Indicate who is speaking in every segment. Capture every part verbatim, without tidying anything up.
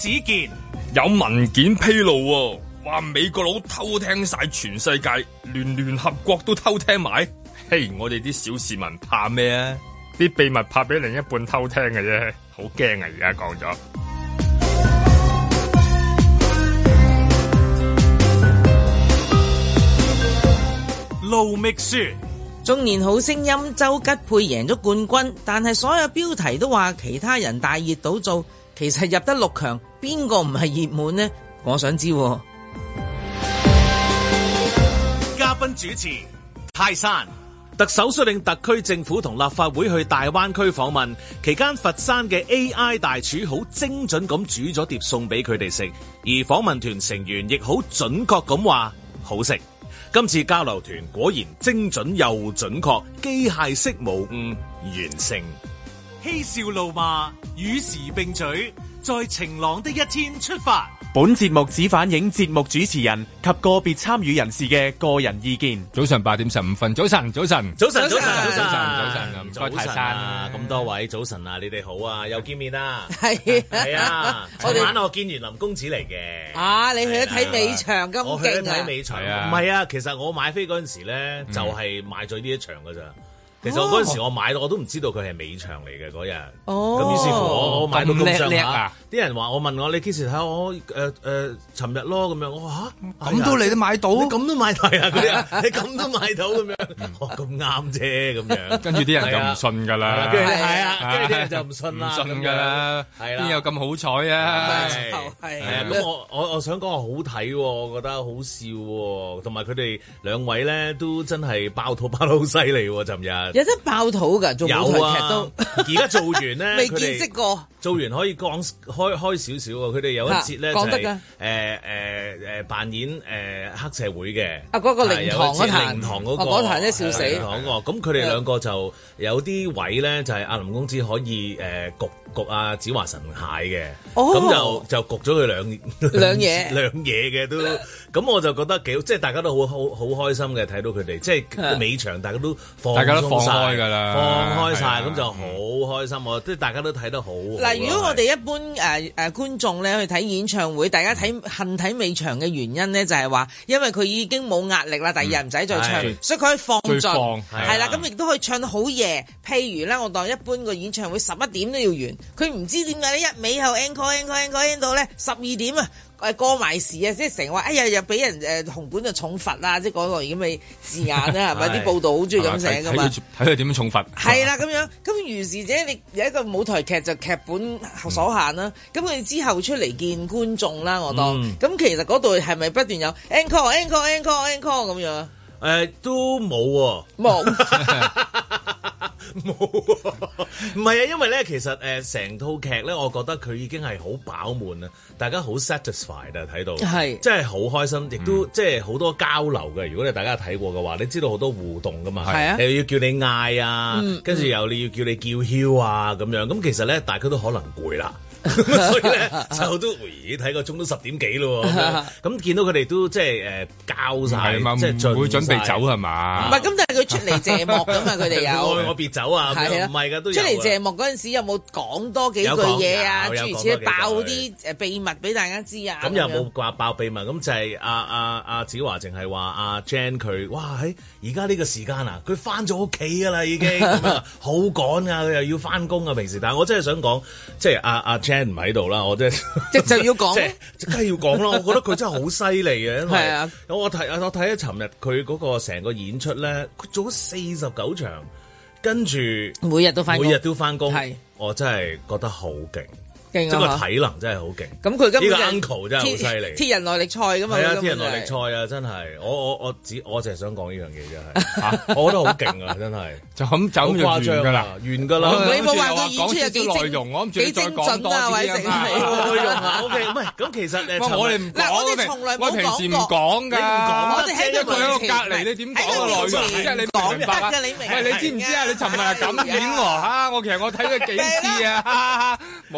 Speaker 1: 子健
Speaker 2: 有文件披露，話美國佬偷聽晒全世界，連聯合國都偷聽埋。嘿，我哋啲小市民怕咩啊？啲秘密怕俾另一半偷聽嘅啫，好驚啊！而家講咗。
Speaker 1: 盧覓雪，
Speaker 3: 中年好聲音周吉佩贏咗冠軍，但係所有標題都話其他人大熱倒灶，其實入得六強，邊個唔係熱門呢？我想知。
Speaker 1: 嘉賓主持泰山，特首率領特區政府同立法會去大灣區訪問期間，佛山嘅 A I 大廚好精準咁煮咗碟餸俾佢哋食，而訪問團成員亦好準確咁話好食。今次交流團果然精準又準確，機械式無誤完成。嬉笑怒罵與時並舉，在晴朗的一天出發。
Speaker 4: 本節目只反映節目主持人及個別參與人士嘅個人意見。
Speaker 2: 早上八點十五分，早晨，早晨，
Speaker 1: 早晨，早晨，早晨，
Speaker 2: 早晨，早晨，唔該
Speaker 1: 泰山啊！咁多位早晨啊，你哋好啊，又見面啦，
Speaker 3: 係
Speaker 1: 係啊！昨晚我見完林公子嚟嘅。
Speaker 3: 啊，你去咗睇尾場咁勁啊！
Speaker 1: 我去咗睇尾場，唔係啊，其實我買飛嗰陣時咧，就係買咗呢一場噶咋。其實我嗰陣時我買到我都唔知道佢係尾場嚟嘅嗰日，咁於是乎我我買到咁上下，啲人話我問我你幾時睇我誒誒尋日咯咁樣，我話嚇
Speaker 2: 咁都你都買到，
Speaker 1: 你咁都買到啊嗰啲，你咁都買到咁樣，哦咁啱啫咁樣，
Speaker 2: 跟住啲人就唔信㗎啦，
Speaker 1: 係啊，跟住啲人就唔信啦，
Speaker 2: 唔信㗎啦，係啦，邊有咁好彩啊？
Speaker 1: 係啊，咁我我我想講話好睇喎，我覺得好笑喎，同埋佢哋兩位咧都真係爆肚爆得好犀利喎，尋日。
Speaker 3: 有得爆肚㗎，做舞台劇都。
Speaker 1: 而家做完咧，
Speaker 3: 未見識過。
Speaker 1: 做完可以講開開少少喎，佢哋有一節咧就係誒誒誒扮演誒黑社會嘅。啊，
Speaker 3: 嗰個靈堂嗰壇，
Speaker 1: 靈堂嗰個
Speaker 3: 嗰壇咧笑死。
Speaker 1: 咁佢哋兩個就有啲位咧，就係阿林公子可以誒焗焗阿子華神蟹嘅。咁就就焗咗佢兩
Speaker 3: 兩嘢
Speaker 1: 兩嘢嘅都。咁我就覺得幾即係大家都好好好開心嘅，睇到佢哋即係尾場大家都放
Speaker 2: 大家都放開㗎啦，
Speaker 1: 放開晒，咁就好開心喎！即係大家都睇得好。
Speaker 3: 嗱，如果我哋一般誒誒觀眾咧去睇演唱會，大家睇恨睇尾場嘅原因咧，就係話因為佢已經冇壓力啦，第二日唔使再唱，所以佢可以放盡，係啦，咁亦都可以唱得好夜。譬如咧，我當一般個演唱會十一點都要完，佢唔知點解咧一尾後 encore encore encore 到咧十二點啊！誒過埋時啊，即係成日話，哎呀又俾人誒紅館就重罰啦，即係嗰個咁嘅字眼啦，係咪啲報道好中意咁寫噶嘛？
Speaker 2: 睇佢點樣重罰？
Speaker 3: 係啦，咁樣咁如是者，你有一個舞台劇就劇本所限啦。咁佢、嗯、之後出嚟見觀眾啦，我當咁、嗯、其實嗰度係咪不斷有 encore encore encore encore 咁樣？誒、
Speaker 1: 呃、都冇喎，
Speaker 3: 冇。
Speaker 1: 冇，唔係啊，因為咧，其實誒成、呃、套劇咧，我覺得佢已經係好飽滿啦，大家好 satisfied 啊，睇到係，即係好開心，亦都、嗯、即係好多交流嘅。如果你大家睇過嘅話，你知道好多互動噶嘛，係啊，又要叫你嗌啊，跟住、嗯、又你要叫你叫囂啊咁樣，咁其實咧，大家都可能攰啦。所以咧就都咦睇個鐘都十點幾咯，咁見到佢哋都即係誒交晒，即係唔會準備走係嘛？唔係咁，但係佢出嚟謝幕㗎嘛，佢哋有愛我別走啊，係啊，唔係㗎都有出嚟謝幕嗰陣時有冇講多幾句嘢啊？諸如此類爆啲誒秘密俾大家知啊？咁又冇話爆秘密，咁就係阿阿阿子華淨係話阿 Jan 佢哇喺而家呢個時間啊，佢翻咗屋企㗎啦已經，好趕啊，佢又要翻工啊平時，但係我真係想講，即係阿阿唔喺度啦，我真係即係就要講，即係梗係要講啦。我覺得佢真係好犀利嘅，因為啊，我睇我睇咗尋日佢嗰個成個演出咧，佢做咗四十九場，跟住每日都翻，每日都翻工，係我真係覺得好勁。即係個體能真係好勁，咁佢今呢個 uncle 真係好犀利，鐵人耐力賽㗎嘛，係啊，鐵人耐力賽啊，真係，我我我只我淨係想講呢樣嘢真係，嚇，我覺得好勁啊，真係，就咁就咁完㗎啦，完㗎啦，你冇話個演出有幾內容，我諗住你再講多啲啊，內容啊 ，OK，唔係，咁其實誒，我哋唔講，我哋從來冇講過，我平時唔講㗎，我哋喺度喺度隔離，你點講個內容？即係你唔明白啊？喂，你知唔知啊？你尋日係咁演喎嚇，我其實我睇咗幾次啊，冇理由。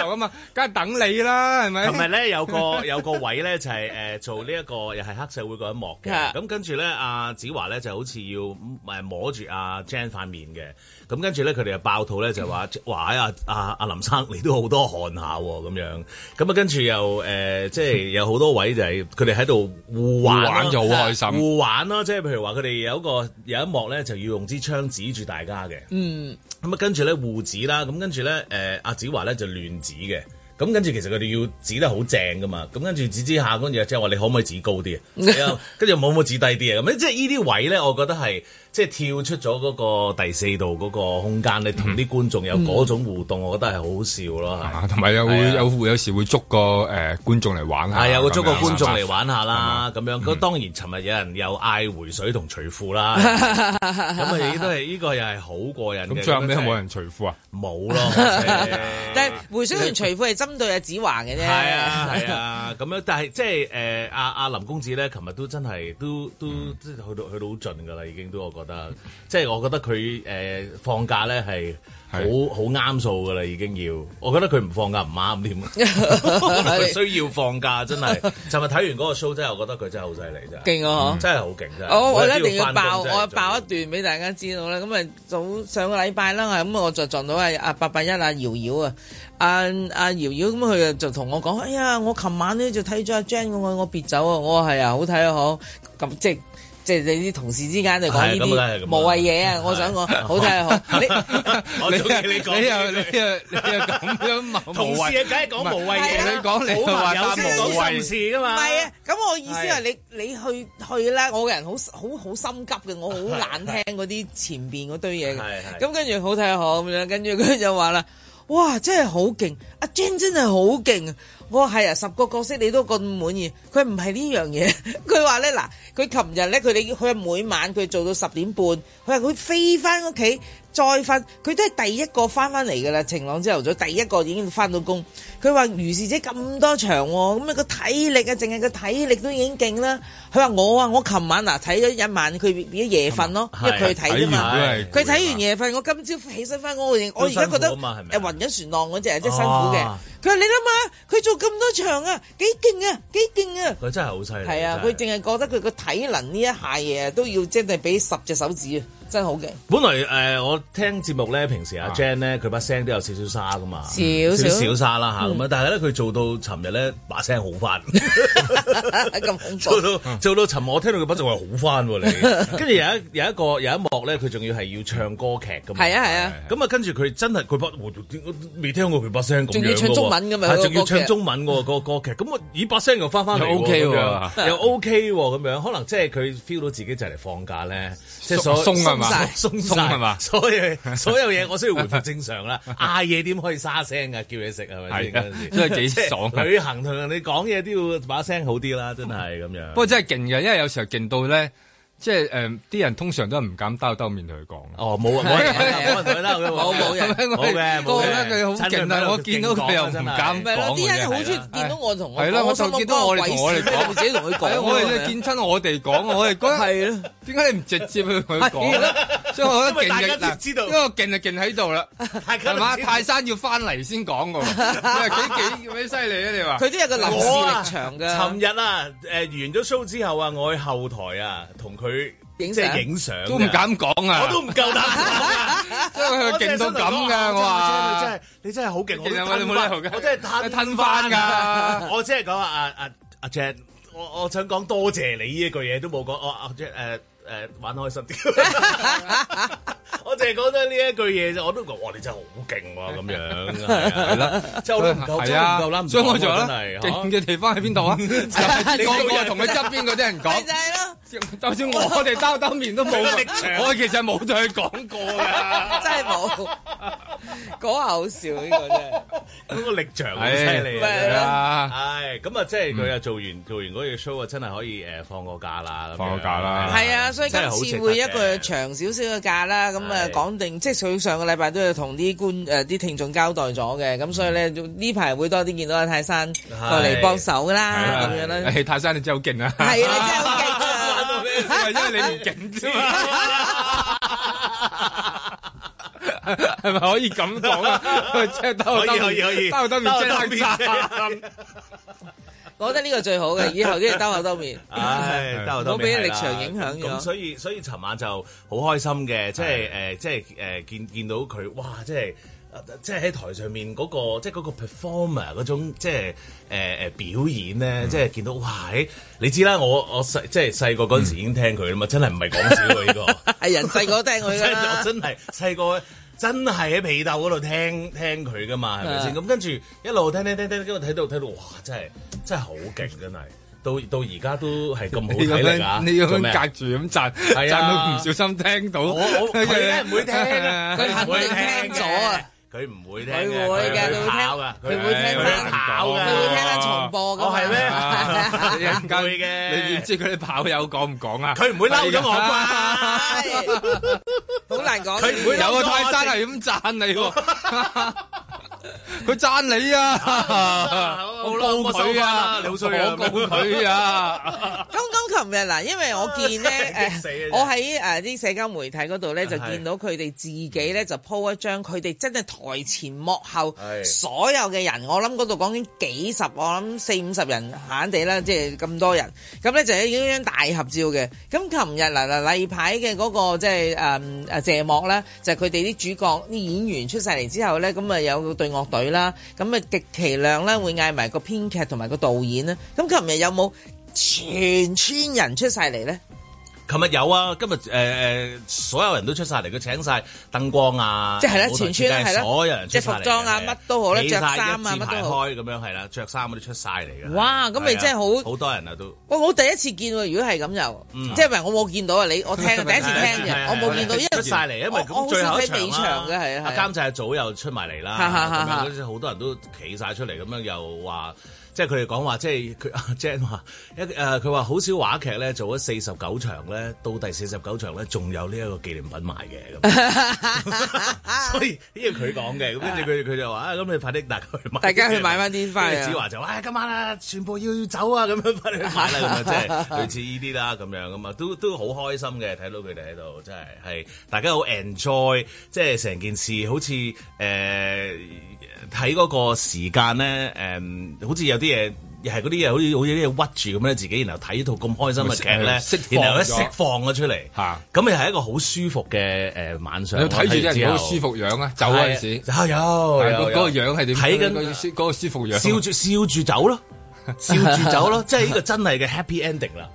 Speaker 2: 啊嘛，梗係等你啦，係咪？
Speaker 1: 琴日咧有個有個位咧就係誒做呢一個又係黑社會嗰一幕嘅，咁跟住咧阿子華咧就好似要誒摸住阿 Jan 塊面嘅，咁跟住咧佢哋就爆肚咧就話話阿阿阿林生你都好多汗下喎咁樣，咁啊跟住又誒即係有好多位就係佢哋喺度互玩
Speaker 2: 就好開心，
Speaker 1: 互玩咯，即係譬如話佢哋有一個有一幕咧就要用支槍指住大家嘅，嗯，咁啊跟住咧互指啦，咁跟住咧誒阿子華咧就亂指嘅。咁跟住其實佢哋要指得好正噶嘛，咁跟住指指下，跟住即係話你可唔可以指高啲啊？跟住冇冇指低啲啊？咁即係呢啲位咧，我覺得係即係跳出咗嗰個第四度嗰個空間，你同啲觀眾有嗰種互動，我覺得係好好笑咯。
Speaker 2: 同埋有會有有時會捉個誒觀眾嚟玩下，
Speaker 1: 係有個捉個觀眾嚟玩下啦，咁樣。咁當然尋日有人又嗌回水同除褲啦，咁啊亦都係呢個又係好過癮嘅。
Speaker 2: 咁最後尾冇人除褲啊？
Speaker 1: 冇咯，
Speaker 3: 但係回水同除褲係針對阿子華嘅啫。
Speaker 1: 係啊係啊，咁樣，但係即係誒阿阿林公子咧，琴日都真係都都即係去到去到好盡㗎啦，已經都我覺得，即係我覺得佢誒、呃、放假咧係好好啱數㗎啦，已經要。我覺得佢唔放假唔啱添，佢需要放假真係。尋日睇完嗰個 show 真係，我覺得佢真係好犀利真係。勁啊！真係好勁真係。
Speaker 3: 我我一定要爆，我爆一段俾大家知道啦。咁啊早上個禮拜啦，咁我就撞到阿阿八八一阿瑤瑤啊。阿阿瑤瑤咁佢就同我講：哎呀，我琴晚咧就睇咗阿 Jan 我愛我別走啊！我話係啊，好睇啊，好咁即係即係你啲同事之間就講呢啲無謂嘢啊！我想講好睇啊，好你
Speaker 1: 你你講
Speaker 2: 你又你又你又咁樣
Speaker 1: 同事梗係講無謂嘢，
Speaker 2: 你講你話有
Speaker 1: 講心事噶嘛？
Speaker 3: 唔係啊，咁我意思係你你去去啦，我個人好好好心急嘅，我好懶聽嗰啲前邊嗰堆嘢嘅，咁跟住好睇啊好咁樣，跟住佢就話啦。哇！真係好勁，阿 Jan 真係好勁啊！我話係啊，十個角色你都咁滿意，佢唔係呢樣嘢。佢話咧嗱，佢琴日咧佢哋佢每晚佢做到十點半，佢話佢飛翻屋企再瞓，佢都係第一個翻翻嚟噶啦。晴朗朝頭早第一個已經翻到工。佢話如是者咁多場，咁啊個體力啊，淨係個體力都已經勁啦。佢話我啊，我琴晚嗱睇咗一晚，佢變咗夜瞓咯，因為佢睇啫嘛。佢睇完夜瞓，我今朝起身翻工，我而家覺得誒暈咗船浪嗰隻，即係辛苦嘅。佢話你諗下，佢做咁多場啊，幾勁啊，幾勁啊！
Speaker 1: 佢真係好犀利。係
Speaker 3: 啊，佢淨係覺得佢個體能呢一下嘢都要即係俾十隻手指啊！真係好勁！
Speaker 1: 本來誒、呃，我聽節目咧，平時阿 Jan 咧，佢把聲都有少少沙噶嘛，
Speaker 3: 少少
Speaker 1: 少沙啦嚇咁啊！但係咧，佢做到尋日咧，把聲好翻，
Speaker 3: 咁恐怖。
Speaker 1: 做到做到尋日，我聽到佢把聲話好翻喎你。跟住有一有一個有一幕咧，佢仲要係要唱歌劇噶嘛。
Speaker 3: 係啊係啊。
Speaker 1: 咁啊，跟住佢真係佢把未聽過佢把聲咁樣。仲要
Speaker 3: 唱中文㗎嘛？
Speaker 1: 仲要唱中文喎個歌劇。咁我咦把聲又翻翻嚟
Speaker 2: O K 喎，
Speaker 1: 又 O K 喎咁樣。可能即係佢 feel 到自己就嚟放假咧，即係所
Speaker 2: 鬆係嘛？
Speaker 1: 鬆鬆係嘛？所有所有嘢我需要回復正常啦。嗌嘢點可以沙聲啊？叫嘢食係咪先？嗰陣時
Speaker 2: 真係幾爽。
Speaker 1: 旅行同人哋講嘢都要把聲好啲啦，真係咁樣。
Speaker 2: 不過真係勁嘅，因為有時候勁到咧。即係誒，啲人通常都係唔敢兜兜面同佢講。
Speaker 1: 哦，冇啊，冇人冇人同佢兜嘅，冇冇人，冇嘅，冇嘅。
Speaker 2: 佢好勁啊！我見到佢又唔敢講。
Speaker 3: 啲人好中意見到我同我。
Speaker 2: 係咯，我就見到我哋同我哋講，
Speaker 3: 自己同佢講。
Speaker 2: 我哋見親我哋講，我哋覺得係咯。點解你唔直接去同佢講？所以我覺得勁嘅嗱，因為勁就勁喺度啦，係嘛？泰山要翻嚟先講㗎喎，幾幾幾犀利啊！你話
Speaker 3: 佢都有個臨時力場㗎。
Speaker 1: 尋日啊，誒完咗 show 之後啊，我去後台啊，同佢。即係影相
Speaker 2: 都唔敢講啊！
Speaker 1: 我都唔夠膽講，
Speaker 2: 因為佢勁到咁噶，我話
Speaker 1: 真係你真係好勁，我
Speaker 2: 吞
Speaker 1: 我真係
Speaker 2: 吞翻噶。
Speaker 1: 我即係講啊啊阿 Jan，我我想講多謝你呢一句嘢都冇講，我阿 Jan 誒。誒玩開心啲，我淨係講得呢一句嘢啫，我都講哇你真係好勁喎咁樣，係啦，即係我都唔夠，真係唔夠啦，
Speaker 2: 所以我就話啦，勁嘅地方喺邊度啊？個個同佢側邊嗰啲人講，
Speaker 3: 就係咯，
Speaker 2: 就算我哋兜兜面都冇力場，我其實冇同佢講過㗎，
Speaker 3: 真係冇，講下好笑呢個真係，
Speaker 1: 嗰個力場好犀利
Speaker 2: 啊！
Speaker 1: 係咁啊，即係佢又做完做完嗰個 show 啊，真係可以誒放個假啦，
Speaker 2: 放個假啦，
Speaker 3: 係啊。所以今次會一個長少少嘅假啦，咁啊講定，即係佢上個禮拜都要同啲觀誒啲聽眾交代咗嘅，咁所以咧呢排會多啲見到阿泰山過嚟幫手啦，咁樣啦。
Speaker 2: 誒泰山你真係好勁啊！
Speaker 3: 係啊，你真係好勁啊！
Speaker 2: 因為你唔勁啫嘛。 係咪可以咁講啊？即係兜兜
Speaker 1: 可以可以
Speaker 2: 兜兜面即係爭。
Speaker 3: 我覺得呢個最好嘅，以後都要兜口兜面。
Speaker 1: 唉，兜口兜面。
Speaker 3: 唔好俾力場影響咗。
Speaker 1: 咁所以所以尋晚就好開心嘅，即係誒，即係誒見見到佢，哇！即係即係喺台上面嗰個，即係嗰個 performer 嗰種，即係誒誒表演咧，即係見到哇！你知啦，我我細即係細個嗰陣時已經聽佢啦嘛，真係唔係講笑喎呢個。係人細個都聽佢㗎啦。真係細個。真係喺被竇嗰度聽聽佢噶嘛，係咪先？咁跟住一路聽聽聽聽，跟住睇到睇到，哇！真係真係好勁，真係。到到而家都係咁好睇嚟㗎。
Speaker 2: 你咁樣隔住咁讚，讚到唔小心聽到。我我佢
Speaker 1: 咧唔會聽啊，
Speaker 3: 佢肯定聽咗啊。
Speaker 1: 佢唔會聽嘅，
Speaker 3: 佢會嘅，佢會跑㗎，佢會聽翻跑㗎，佢會聽翻重播㗎。
Speaker 1: 哦，係咩？
Speaker 2: 唔會嘅，你點知佢啲跑友講唔講啊？
Speaker 1: 佢唔會嬲咗我啩？
Speaker 3: 好難講。
Speaker 2: 佢唔會有個泰山係咁讚你喎，佢讚你啊！我告佢啊！你好衰啊！我告佢啊！
Speaker 3: 剛剛琴日嗱，因為我見咧誒，我喺誒啲社交媒體嗰度咧就見到佢哋自己咧就 po 一張佢哋真係台前幕後所有嘅人，我諗嗰度講緊幾十，我諗四五十人閒地啦，即係咁多人，咁咧就係一張大合照嘅。咁琴日嗱嗱例牌嘅嗰個即係誒誒謝幕咧，就係佢哋啲主角啲演員出晒嚟之後咧，咁啊有隊樂隊啦，咁啊極其量咧會嗌埋個編劇同埋個導演啦。咁琴日有冇全村人出晒嚟咧？
Speaker 1: 琴日有啊，今日誒誒所有人都出晒嚟，佢請晒燈光啊，
Speaker 3: 即係咧全村係啦，
Speaker 1: 所有人出晒嚟，
Speaker 3: 即係服裝啊乜都好咧，着衫啊乜都好，
Speaker 1: 開咁樣係啦，着衫嗰啲出晒嚟嘅。
Speaker 3: 哇！咁咪真係好
Speaker 1: 好多人啊都。
Speaker 3: 喂，我第一次見喎，如果係咁又，即係唔係我冇見到啊？你我聽第一次聽嘅，我冇見到，因為
Speaker 1: 出晒嚟，因為咁最後一場
Speaker 3: 嘅係啊，
Speaker 1: 監製組又出埋嚟啦，咁樣嗰啲好多人都企晒出嚟，咁樣又話。即係佢哋講話，即係佢阿 Jan 話一誒，佢話好少話劇咧做咗四十九場咧，到第四十九場咧仲有呢一個紀念品賣嘅咁，所以呢個佢講嘅，咁跟住佢佢就話啊，咁你快啲大家去買，
Speaker 3: 大家去買翻啲翻嚟。
Speaker 1: 子華就話：今晚啊，全部要要走啊，咁樣快啲去買啦，咁啊，即係類似呢啲啦，咁樣咁啊，都都好開心嘅，睇到佢哋喺度，真係係大家好 enjoy，即係成件事好似誒睇嗰個時間咧誒，好似有啲嘢，又係嗰啲嘢，好似好似啲嘢屈住咁咧，自己然後睇套咁開心嘅劇咧，然後咧釋放咗出嚟，咁又係一個好舒服嘅誒晚上。你睇住啲人好舒服樣啊，走嗰陣時，有有嗰個樣係點？睇緊嗰個舒服樣，笑住笑住走咯，笑住走咯，即係呢個真係嘅 happy ending 啦。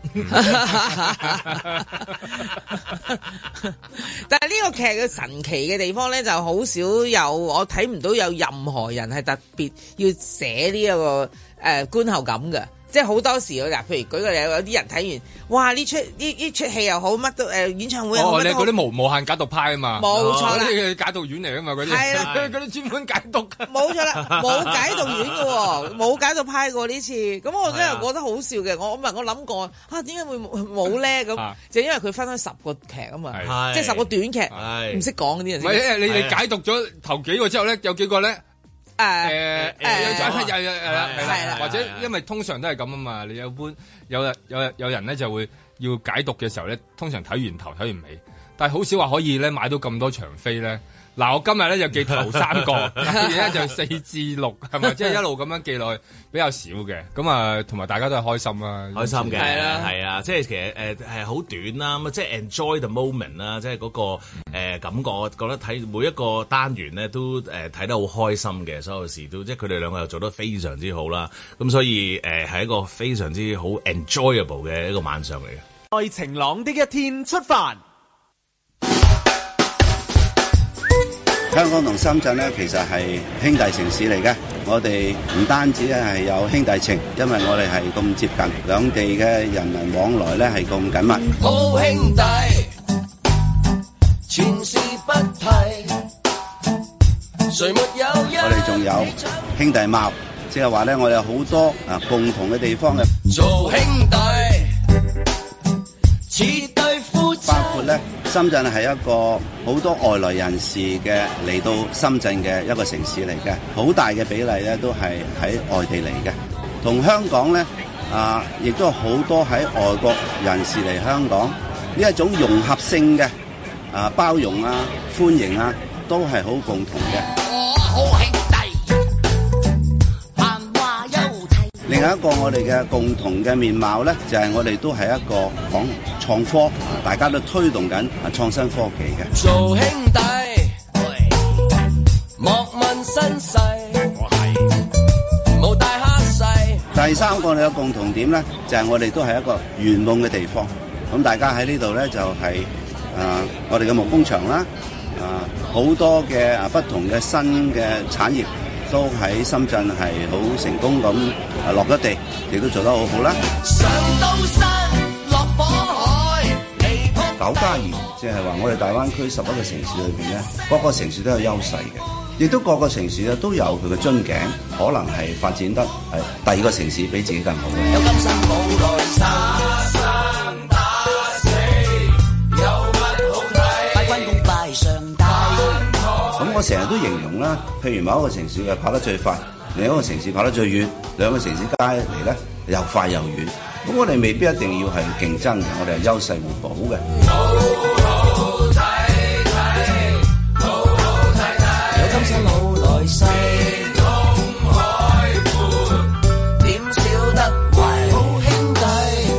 Speaker 3: 但係呢個劇嘅神奇嘅地方咧，就好少有我睇唔到有任何人係特別要寫呢一個誒觀後感嘅。即係好多時嗱，譬如舉個例，有啲人睇完，哇！呢出呢呢出戲又好，乜都誒演唱會又好。
Speaker 2: 哦，你嗰啲無無限解讀派啊嘛，
Speaker 3: 冇錯啦，
Speaker 2: 啲解讀員嚟啊嘛，嗰啲係啦，嗰啲專門解讀。冇
Speaker 3: 錯啦，冇解讀員嘅喎，冇解讀派過呢次。咁我真係覺得好笑嘅。我唔係我諗過啊，點解會冇咧？咁就因為佢分開十個劇啊嘛，即係十個短劇，唔識講嗰啲人。
Speaker 2: 唔係，你哋解讀咗頭幾個之後咧，有幾個咧？誒誒誒，有有有係啦，係啦，或者因為通常都係咁啊嘛，你有般有有有人咧就會要解讀嘅時候咧，通常睇完頭睇完尾，但係好少話可以咧買到咁多場飛咧。嗱，我今日咧就記頭三個，而家就四至六，係咪？即係一路咁樣記落去比較少嘅，咁啊，同埋大家都係開心啦，
Speaker 1: 開心嘅，係啊，係啊，即係其實誒係好短啦，咁即係 enjoy the moment 啦，即係嗰個誒感覺，我覺得睇每一個單元咧都誒睇得好開心嘅，所有事都即係佢哋兩個又做得非常之好啦，咁所以誒係一個非常之好 enjoyable 嘅一個晚上嚟嘅。
Speaker 4: 在晴朗的一天出發。
Speaker 5: 香港同深圳咧，其實係兄弟城市嚟嘅。我哋唔單止咧係有兄弟情，因為我哋係咁接近，兩地嘅人民往來咧係咁緊密。好兄弟，前事不提，誰沒有？我哋仲有兄弟貌，即係話咧，我哋有好多啊共同嘅地方嘅。做兄弟，似對夫妻。包括咧。深圳係一個好多外來人士嘅嚟到深圳嘅一個城市嚟嘅，好大嘅比例咧都係喺外地嚟嘅。同香港咧啊，亦都好多喺外國人士嚟香港，呢一種融合性嘅啊包容啊歡迎啊， 都係好共同嘅。
Speaker 6: 我好兄弟，閒話休題。
Speaker 5: 另外一個我哋嘅共同嘅面貌咧，就係、是、我哋都係一個講創科，大家都推動緊啊創新科技嘅。
Speaker 6: 做兄弟，莫問身世，我係無大蝦細。
Speaker 5: 第三個我哋嘅共同點咧，就係、是、我哋都係一個圓夢嘅地方。咁大家喺呢度咧就係、是、啊、呃，我哋嘅木工場啦，啊、呃、好多嘅啊不同嘅新嘅產業都喺深圳係好成功咁啊落咗地，亦都做得好好啦。上刀山落火海，九加二，即係話我哋大灣區十一個城市裏邊咧，各個城市都有優勢嘅，亦都各個城市咧都有佢嘅樽頸，可能係發展得係第二個城市比自己更好嘅。有今生冇來世。咁我成日都形容啦，譬如某一個城市嘅跑得最快，另一個城市跑得最遠，兩個城市加嚟咧又快又遠。咁我哋未必一定要係競爭嘅，我哋係優勢互補嘅。好好睇睇，好好睇睇，有今生冇來世，空海闊，點少得為好兄弟。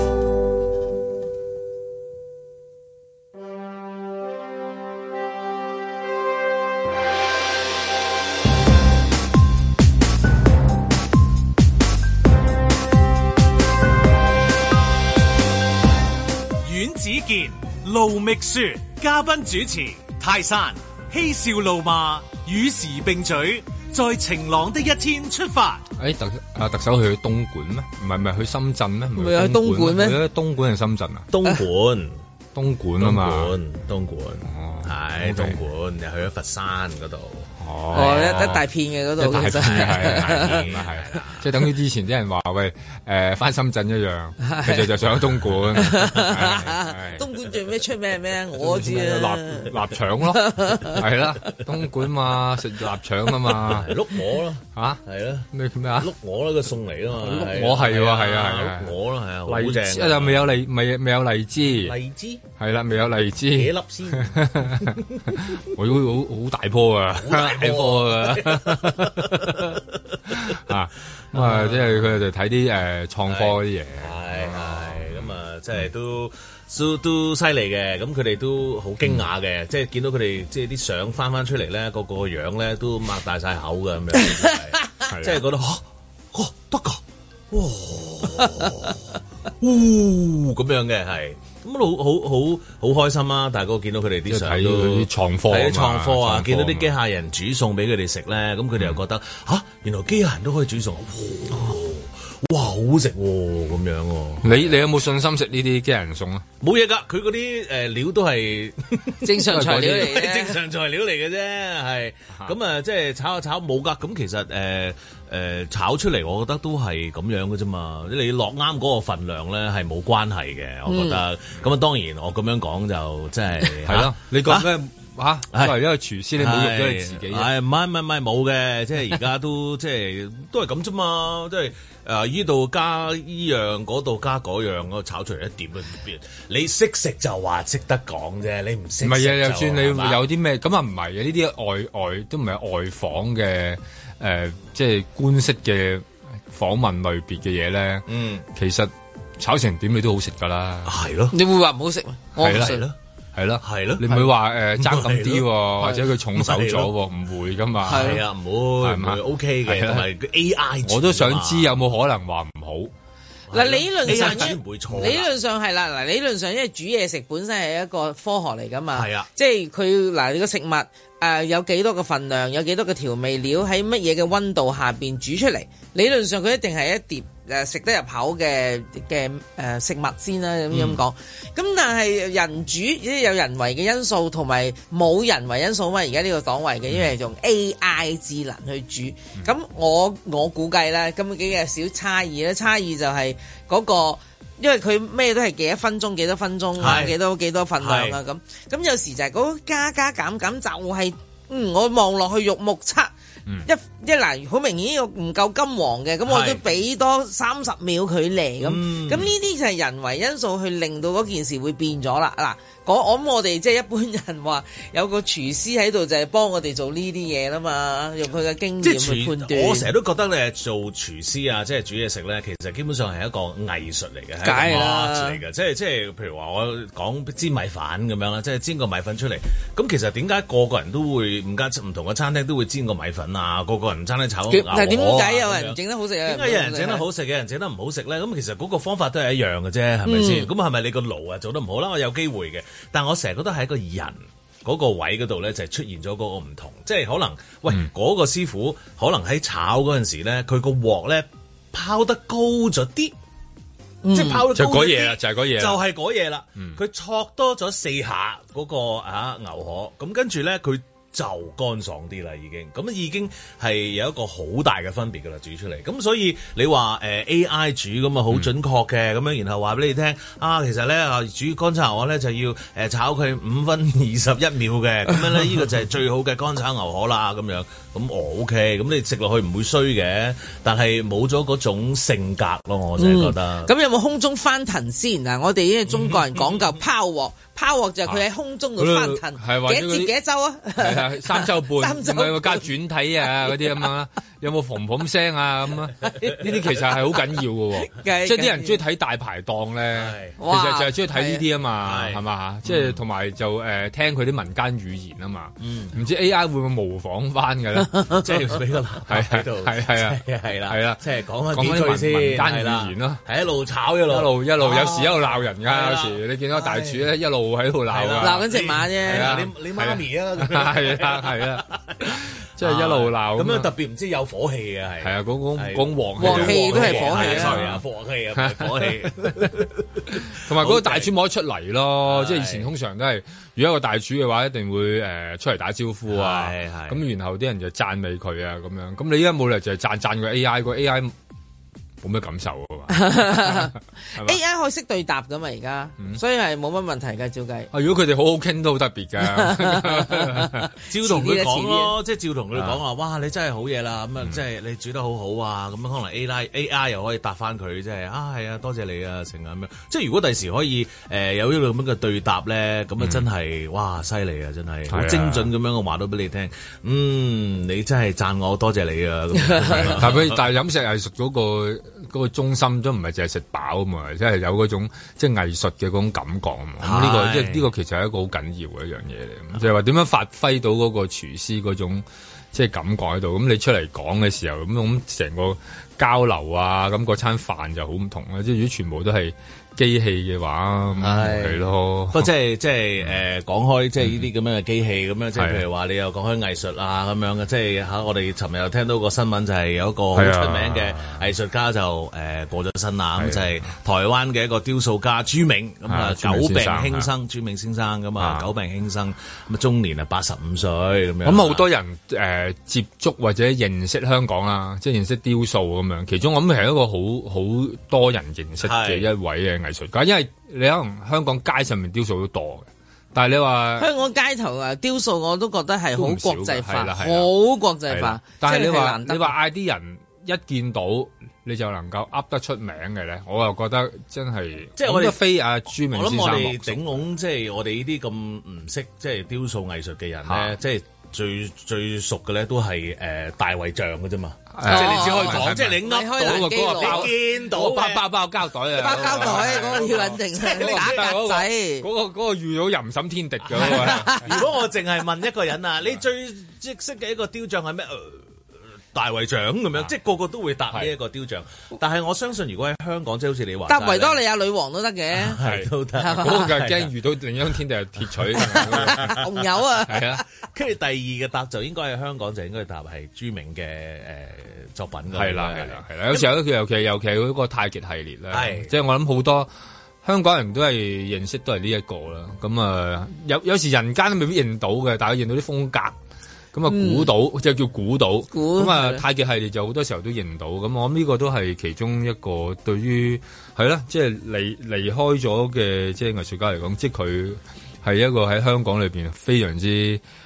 Speaker 7: 盧覓雪，嘉賓主持泰山，嬉笑怒罵與時並舉，在晴朗的一天出發。
Speaker 2: 誒、欸、特啊特首去東莞咩？唔係唔係去深圳咩？唔
Speaker 3: 係去東莞咩？
Speaker 2: 去東莞定深圳啊？
Speaker 1: 東莞，
Speaker 2: 東莞啊嘛，
Speaker 1: 東莞，係東莞，又去咗佛山嗰度。
Speaker 3: 哦，一一大片嘅嗰度，
Speaker 2: 一大片係係係，即係等於之前啲人話喂，誒翻深圳一樣，其實就上咗東莞。
Speaker 3: 東莞最咩出名咩？我知啊，
Speaker 2: 臘臘腸咯，係啦，東莞嘛食臘腸啊嘛，
Speaker 1: 碌鵝咯
Speaker 2: 嚇，
Speaker 1: 係咯
Speaker 2: 咩咩啊？
Speaker 1: 碌鵝咯個餸嚟啊嘛，
Speaker 2: 碌鵝係喎係啊係啊，
Speaker 1: 碌鵝咯係啊，好正。
Speaker 2: 啊就未有荔未未有荔枝，
Speaker 1: 荔枝
Speaker 2: 係啦，未有荔枝
Speaker 1: 幾粒先？
Speaker 2: 我好好好大棵啊！大棵啊！啊咁啊，即係佢哋睇啲誒創科啲嘢，
Speaker 1: 係係咁啊，即係都都都犀利嘅。咁佢哋都好驚訝嘅，即係見到佢哋即係啲相翻翻出嚟咧，個個樣咧都擘大晒口嘅咁樣，即係覺得嚇哦得㗎，哇嗚咁樣嘅係。咁好好好好開心啊！大哥見到佢哋啲相都
Speaker 2: 啲創科，
Speaker 1: 睇啲創科啊！見到啲機械人煮餸俾佢哋食咧，咁佢哋又覺得吓，原來機械人都可以煮餸，哇，好食喎咁樣喎！
Speaker 2: 你你有冇信心食呢啲機械人餸啊？
Speaker 1: 冇嘢㗎，佢嗰啲誒料都係
Speaker 3: 正常材料嚟嘅，
Speaker 1: 正常材料嚟嘅啫，係咁啊！即係炒下炒冇㗎，咁其實誒。誒、呃、炒出嚟，我覺得都係咁樣嘅啫嘛。你落啱嗰個份量咧，係冇關係嘅。我覺得咁啊，當然我咁樣講就即係係咯。你講咩嚇？作為一個廚師，你侮辱咗你自己。係唔係唔係唔係冇嘅，即係而家都即係都係咁啫嘛。即係誒依度加依樣，嗰度加嗰樣，嗰炒出嚟一碟都變。你識食就話識得講啫，你唔識唔係啊？就算你有啲咩咁啊？唔係啊！呢啲外外都唔係外訪嘅。誒、呃，即係官式嘅訪問類別嘅嘢咧，嗯，其實炒成點你都好食噶啦，係咯，你會話唔好食咩？係啦，係咯，係咯，係咯，你唔會話誒爭咁啲，或者佢重手咗，唔會噶嘛，係啊，唔會，唔會 OK 嘅，同埋 A I，我都想知有冇可能話唔好。嗱，理論上咧，理論上係啦，嗱，理論上因為煮嘢食本身係一個科學嚟噶嘛，係啊，即係佢嗱你個食物誒、呃、有幾多個份量，有幾多個調味料喺乜嘢嘅溫度下邊煮出嚟，理論上佢一定係一碟誒食得入口嘅嘅誒食物先啦，咁樣講。咁、嗯、但係人煮即係有人為嘅因素同埋冇人為因素啊嘛，而家呢個檔位嘅，因為係用 A I 智能去煮。咁、嗯、我我估計啦，咁幾嘅小差異咧，差異就係嗰、那個。因為佢咩都係幾多分鐘幾多分鐘啊，幾多幾多份量啊咁，咁有時就係嗰加加減減就係、是，嗯，我望落去肉目測，
Speaker 3: 嗯、一一嗱好明顯唔夠金黃嘅，咁我都俾多三十秒佢嚟咁，咁呢啲就係人為因素去令到嗰件事會變咗啦嗱。我我諗我哋即係一般人話有個廚師喺度就係幫我哋做呢啲嘢啦嘛，用佢嘅經驗去判斷。我成日
Speaker 1: 都覺得咧做廚師啊，即係煮嘢食咧，其實基本上係一個藝術嚟嘅，係
Speaker 3: 一個
Speaker 1: art 嚟嘅。即係即係譬如話我講煎米粉咁樣啦，即係煎個米粉出嚟。咁其實點解個個人都會唔間唔同嘅餐廳都會煎個米粉啊？個個人餐廳炒牛河。
Speaker 3: 但係點解有人整得好食？
Speaker 1: 點解有人整得好食嘅人整得唔好食咧？咁其實嗰個方法都係一樣嘅啫，係咪先？咁係咪你個爐啊做得唔好啦？我有機會嘅。但我成日覺得喺個人嗰個位嗰度咧，就係出現咗嗰個唔同，即係可能喂嗰、嗯、個師傅可能喺炒嗰陣時咧，佢個鑊咧拋得高咗啲，嗯、即係拋得高咗啲，就嗰嘢啦，就係嗰嘢，就係嗰嘢啦。佢挫多咗四下嗰、嗰個啊牛河，咁跟住咧佢就乾爽啲啦，已經咁已經係有一個好大嘅分別噶啦，煮出嚟。咁所以你話誒、呃、A I 煮咁啊好準確嘅咁樣，然後話俾你聽啊，其實咧啊煮乾炒牛河咧就要誒炒佢五分二十一秒嘅，咁樣咧呢個就係最好嘅乾炒牛河啦，咁樣咁哦 OK，咁你食落去唔會衰嘅，但係冇咗嗰種性格咯，我就係覺得。
Speaker 3: 咁、嗯、有冇空中翻騰先嗱？我哋因為中國人講究拋鑊。拋鑊就係佢喺空中度翻騰，幾多節幾多周啊？
Speaker 2: 係啊，三周半，唔係加轉體啊嗰啲咁啊，有冇嘭嘭聲啊咁啊？呢啲其實係好緊要嘅喎，即係啲人中意睇大排檔咧，其實就係中意睇呢啲啊嘛，係嘛？即係同埋就誒聽佢啲民間語言啊嘛，唔知 A I 會唔會模仿翻嘅咧？
Speaker 1: 即係俾個係喺度，係係啊，係啦，係啦，即係講翻幾句先，民間語言咯，係一路炒一路一路一路，有時一路鬧人㗎，有時你見到大廚咧一路喺度鬧啊，
Speaker 3: 鬧緊隻馬啫，
Speaker 1: 你你媽咪啊，
Speaker 2: 係啊係啊，即係一路鬧
Speaker 1: 咁樣，特別唔知有火氣嘅係，
Speaker 2: 係啊，講講講鑊
Speaker 3: 鑊氣都係火氣
Speaker 1: 啊，火氣啊，火氣，
Speaker 2: 同埋嗰個大廚冇得出嚟咯，即係以前通常都係，如果一個大廚嘅話，一定會誒出嚟打招呼啊，咁然後啲人就讚美佢啊咁樣，咁你而家冇理由就係讚讚個 A I 個 A I。冇咩感受啊嘛
Speaker 3: ，A I 可以識對答噶嘛而家，嗯、所以係冇乜問題噶，照計。
Speaker 2: 啊，如果佢哋好好傾都好特別噶，
Speaker 1: 照同佢講咯，即係照同佢哋講話，哇，你真係好嘢啦，咁啊，即係你煮得好好啊，咁樣可能 A I A I 又可以答翻佢，即係啊，係啊，多謝你啊，成啊咁樣。即係如果第時可以誒、呃、有呢個咁嘅對答咧，咁啊真係、嗯、哇犀利啊，真係好精準咁樣我話到俾你聽，嗯，你真係讚我，多謝你啊。
Speaker 2: 但係但係飲食藝術嗰個。嗰個中心都唔係淨係食飽啊嘛，即係有嗰種即係藝術嘅嗰種感覺啊嘛。咁呢個即係呢個其實係一個好緊要嘅一樣嘢嚟，就係話點樣發揮到嗰個廚師嗰種即係感覺喺度。咁你出嚟講嘅時候，咁咁成個交流啊，咁嗰餐飯就好唔同啦。即係如果全部都係機器嘅話，係咯。
Speaker 1: 不過即係即係誒講開即係呢啲咁樣嘅機器咁樣，即係譬如話你又講開藝術啊咁樣嘅，即係嚇我哋尋日又聽到個新聞就係有一個好出名嘅藝術家就誒過咗身啦，咁就係台灣嘅一個雕塑家朱銘，咁啊久病輕生，朱銘先生咁啊久病輕生，咁啊終年啊八十五歲咁樣。
Speaker 2: 咁好多人誒接觸或者認識香港啦，即係認識雕塑咁樣，其中我諗係一個好好多人認識嘅一位嘅藝術家，因為你可能香港街上面雕塑都多嘅，但係你話
Speaker 3: 香港街頭啊雕塑我都覺得係好國際化，好國際化。
Speaker 2: 但係你話你話嗌啲人一見到你就能夠噏得出名嘅咧，我又覺得真係
Speaker 1: 即係我哋
Speaker 2: 非阿朱銘先生。我諗我
Speaker 1: 哋頂籠即係我哋呢啲咁唔識即係雕塑藝術嘅人咧，即係最最熟嘅咧都係誒大衛像嘅啫嘛。即係你只可以講，即係你噏到個嗰個包，見到包包包膠袋啊，
Speaker 3: 包膠袋嗰個要穩定，打格仔。
Speaker 2: 嗰個嗰個遇到淫審天敵嘅。
Speaker 1: 如果我淨係問一個人啊，你最即識嘅一個雕像係咩？大衛像咁樣，即係個個都會搭呢一個雕像。但係我相信，如果喺香港，即係好似你話，
Speaker 3: 搭維多利亞女王都得嘅，
Speaker 1: 係都得。
Speaker 2: 嗰個就係驚遇到另一種天敵係鐵錘，
Speaker 3: 紅油啊！
Speaker 1: 係啊，跟住第二嘅搭就應該喺香港就應該搭係朱銘嘅誒作品㗎。
Speaker 2: 係啦，係啦，係啦。有時候咧，尤其尤其嗰個太極系列咧，即係我諗好多香港人都係認識都係呢一個啦。咁啊，有有時人間都未必認到嘅，但係認到啲風格。咁啊，估到即係叫估到，咁啊太極系列就好多時候都認到，咁我諗呢個都係其中一個對於係啦，即係離離開咗嘅即係藝術家嚟講，即係佢係一個喺香港裏邊非常之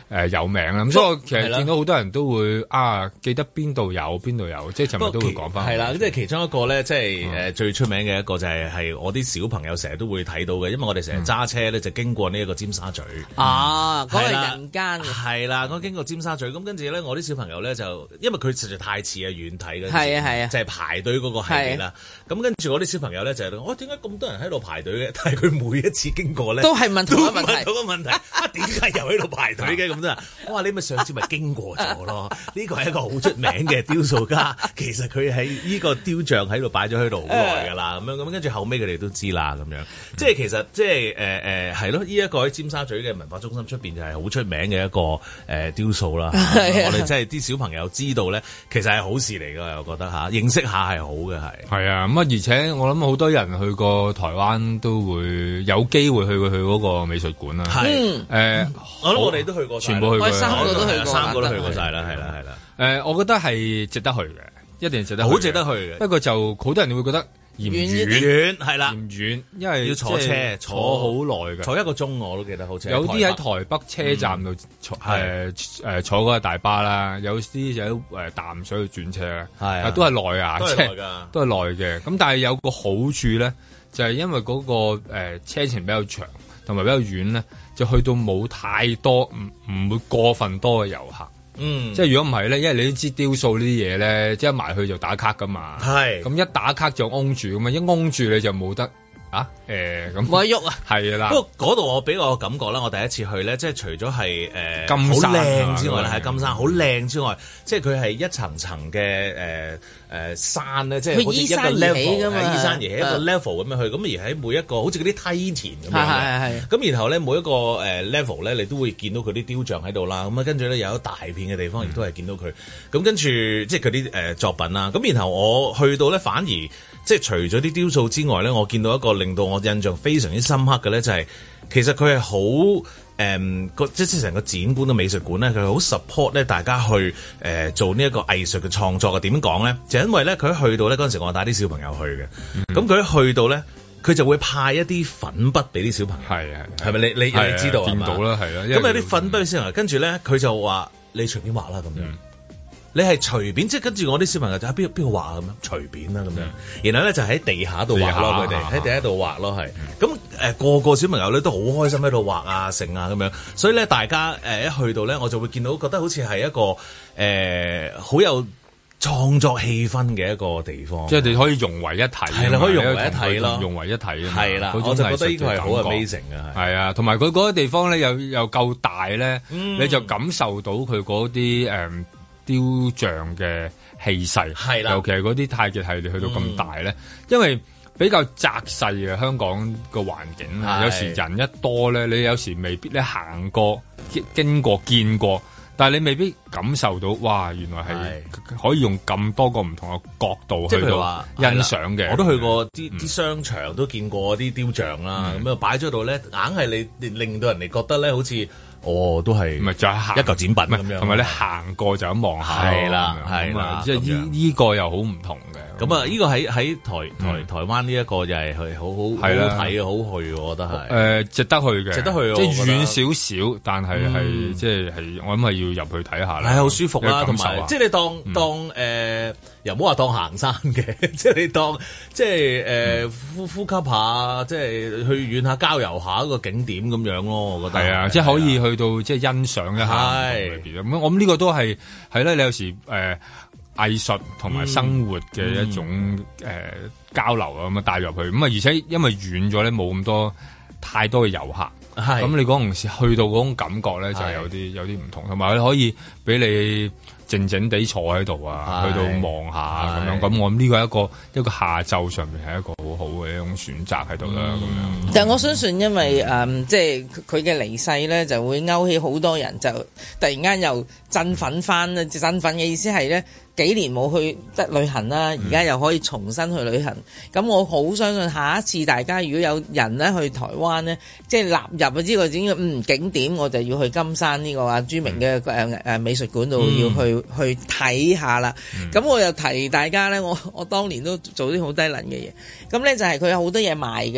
Speaker 2: 誒有名啦。咁所以我其實見到好多人都會啊記得邊度有邊度有，即係尋日都會講翻。
Speaker 1: 係啦，即係其中一個咧，即係誒最出名嘅一個就係係我啲小朋友成日都會睇到嘅，因為我哋成日揸車咧就經過呢一個尖沙咀。
Speaker 3: 啊，嗰個人間嘅。係
Speaker 1: 啦，我經過尖沙咀，咁跟住咧，我啲小朋友咧就因為佢實在太似啊遠睇嘅，
Speaker 3: 係啊係啊，
Speaker 1: 就係排隊嗰個系列啦。咁跟住我啲小朋友咧就係我點解咁多人喺度排隊嘅？但係佢每一次經過咧
Speaker 3: 都係問同一個問題，
Speaker 1: 同一個問題啊，點解又喺度排隊嘅咁啫？我話你咪上次咪經過咗咯。呢個係一個好出名嘅雕塑家，其實佢喺呢個雕像喺度擺咗喺度好耐㗎啦。咁樣咁跟住後尾佢哋都知啦。咁樣即係其實即係誒誒係咯。呢一個喺尖沙咀嘅文化中心出邊就係好出名嘅一個誒雕塑啦。我哋即係啲小朋友知道咧，其實係好事嚟㗎。我覺得嚇認識下係好嘅係。
Speaker 2: 係啊，咁啊而且我諗好多人去過台灣都會有機會去過去嗰個美術館啦。
Speaker 1: 係誒，我諗我哋都去過，
Speaker 2: 全部去過，
Speaker 3: 三個都去過，
Speaker 1: 三個都去過晒啦，係啦係啦。
Speaker 2: 誒，我覺得係值得去嘅，一定值得去，
Speaker 1: 好值得去嘅。不
Speaker 2: 過就好多人會覺得嫌遠，
Speaker 1: 遠係啦，
Speaker 2: 嫌遠，因為
Speaker 1: 要坐車
Speaker 2: 坐好耐嘅，
Speaker 1: 坐一個鐘我都記得好似。
Speaker 2: 有啲喺台北車站度坐誒誒坐嗰個大巴啦，有啲就喺誒淡水去轉車啦，係都係耐啊，
Speaker 1: 都係耐㗎，
Speaker 2: 都係耐嘅。咁但係有個好處咧，就係因為嗰個誒車程比較長，同埋比較遠咧，就去到冇太多唔唔會過分多嘅遊客。嗯，即係如果唔係咧，因為你都知雕塑呢啲嘢咧，即係一埋去就打卡噶嘛。係，咁一打卡就擁住咁嘛，一擁住你就冇得啊誒咁。冇得喐啊！係啦。不過
Speaker 1: 嗰度我俾我感覺啦，我第一次去咧，即係除咗係誒金山好靚之外咧，係金山好靚之外，即係佢係一層層嘅誒誒山咧，即係好似一個 level 係依山而起一個 level 咁樣去，咁而喺每一個好似嗰啲梯田咁樣嘅。咁然後咧每一個誒 level 咧，你都會見到佢啲雕像喺度啦。咁啊跟住咧有一大片嘅地方亦都係見到佢。咁跟住即係佢啲誒作品啦。咁然後我去到咧，反而即係除咗啲雕塑之外咧，我見到一個令到我印象非常之深刻嘅咧，就係其實佢係好誒個即係成個展館嘅美術館咧，佢好 support 咧大家去誒、呃、做呢一個藝術嘅創作嘅。點講咧？就因為咧佢一去到咧嗰陣時，我帶啲小朋友去嘅，咁佢、嗯、一去到咧，佢就會派一啲粉筆俾啲小朋友，係係係咪？你你你知道係嘛？見到啦，係啦。咁有啲粉筆俾小朋友，跟住咧佢就話你隨便畫啦咁樣。嗯你係隨便，即係跟住我啲小朋友就喺邊邊度畫啊咁樣，隨便啦咁樣。嗯、然後咧就喺地下度畫咯，佢哋喺地下度畫咯，係。咁誒、呃、個個小朋友咧都好開心喺度畫啊、成啊咁樣。所以咧大家誒、呃、一去到咧，我就會見到覺得好似係一個誒好、呃、有創作氣氛嘅一個地方。即係你可以融為一體，係啦，可以融為一體咯，融為一體啊嘛。係啦，我就覺得呢個係好 amazing 嘅。係啊，同埋佢嗰個地方咧又又夠大咧，嗯、你就感受到佢嗰啲誒。嗯雕像嘅氣勢，係啦，尤其係嗰啲太極系列去到咁大咧，嗯、因為比較窄細嘅香港個環境，的有時人一多咧，你有時未必咧行過、經過、見過，但係你未必感受到，哇！原來係可以用咁多個唔同嘅角度去到欣賞嘅。我都去過啲啲商場，都見過啲雕像啦，咁啊擺咗度咧，硬係你令到人哋覺得咧，好似。哦，都係，唔係就係行一嚿展品咁樣，同埋你行過就咁望下，係啦，係啦，即係依依個又好唔同嘅。咁啊，依個喺喺台台台灣呢一個就係係好好好睇嘅，好去，我覺得係誒值得去嘅，值得去，即係遠少少，但係係即係係我諗係要入去睇下啦，係好舒服啦，同埋即係你當當誒。又唔好話當行山嘅，即係你當即係誒呼呼吸下，即係去遠下郊遊下一個景點咁樣咯。我覺得係啊，即係可以去到即係欣賞一下裏邊咁。我諗呢個都係係咧，你有時誒藝術同埋生活嘅一種誒交流啊，咁啊帶入去咁啊，而且因為遠咗咧，冇咁多太多嘅遊客，咁你嗰陣時去到嗰種感覺咧，就係有啲有啲唔同，同埋佢可以俾你。靜靜地坐喺度啊，去到望下咁樣，咁我諗呢個係一個一個下晝上面係一個好好嘅一種選擇喺度啦，咁樣。但係我相信，因為誒，即係佢嘅離世咧，就會勾起好多人，就突然間又振奮翻啦。振奮嘅意思係咧，幾年冇去得旅行啦，而家又可以重新去旅行。咁、嗯、我好相信下一次大家如果有人咧去台灣咧，即係納入咗呢個整個嗯景點，我就要去金山呢個啊著名嘅誒誒美術館度要去。嗯去睇下啦，咁、嗯、我又提大家咧，我我當年都做啲好低能嘅嘢，咁咧就係佢有好多嘢賣嘅，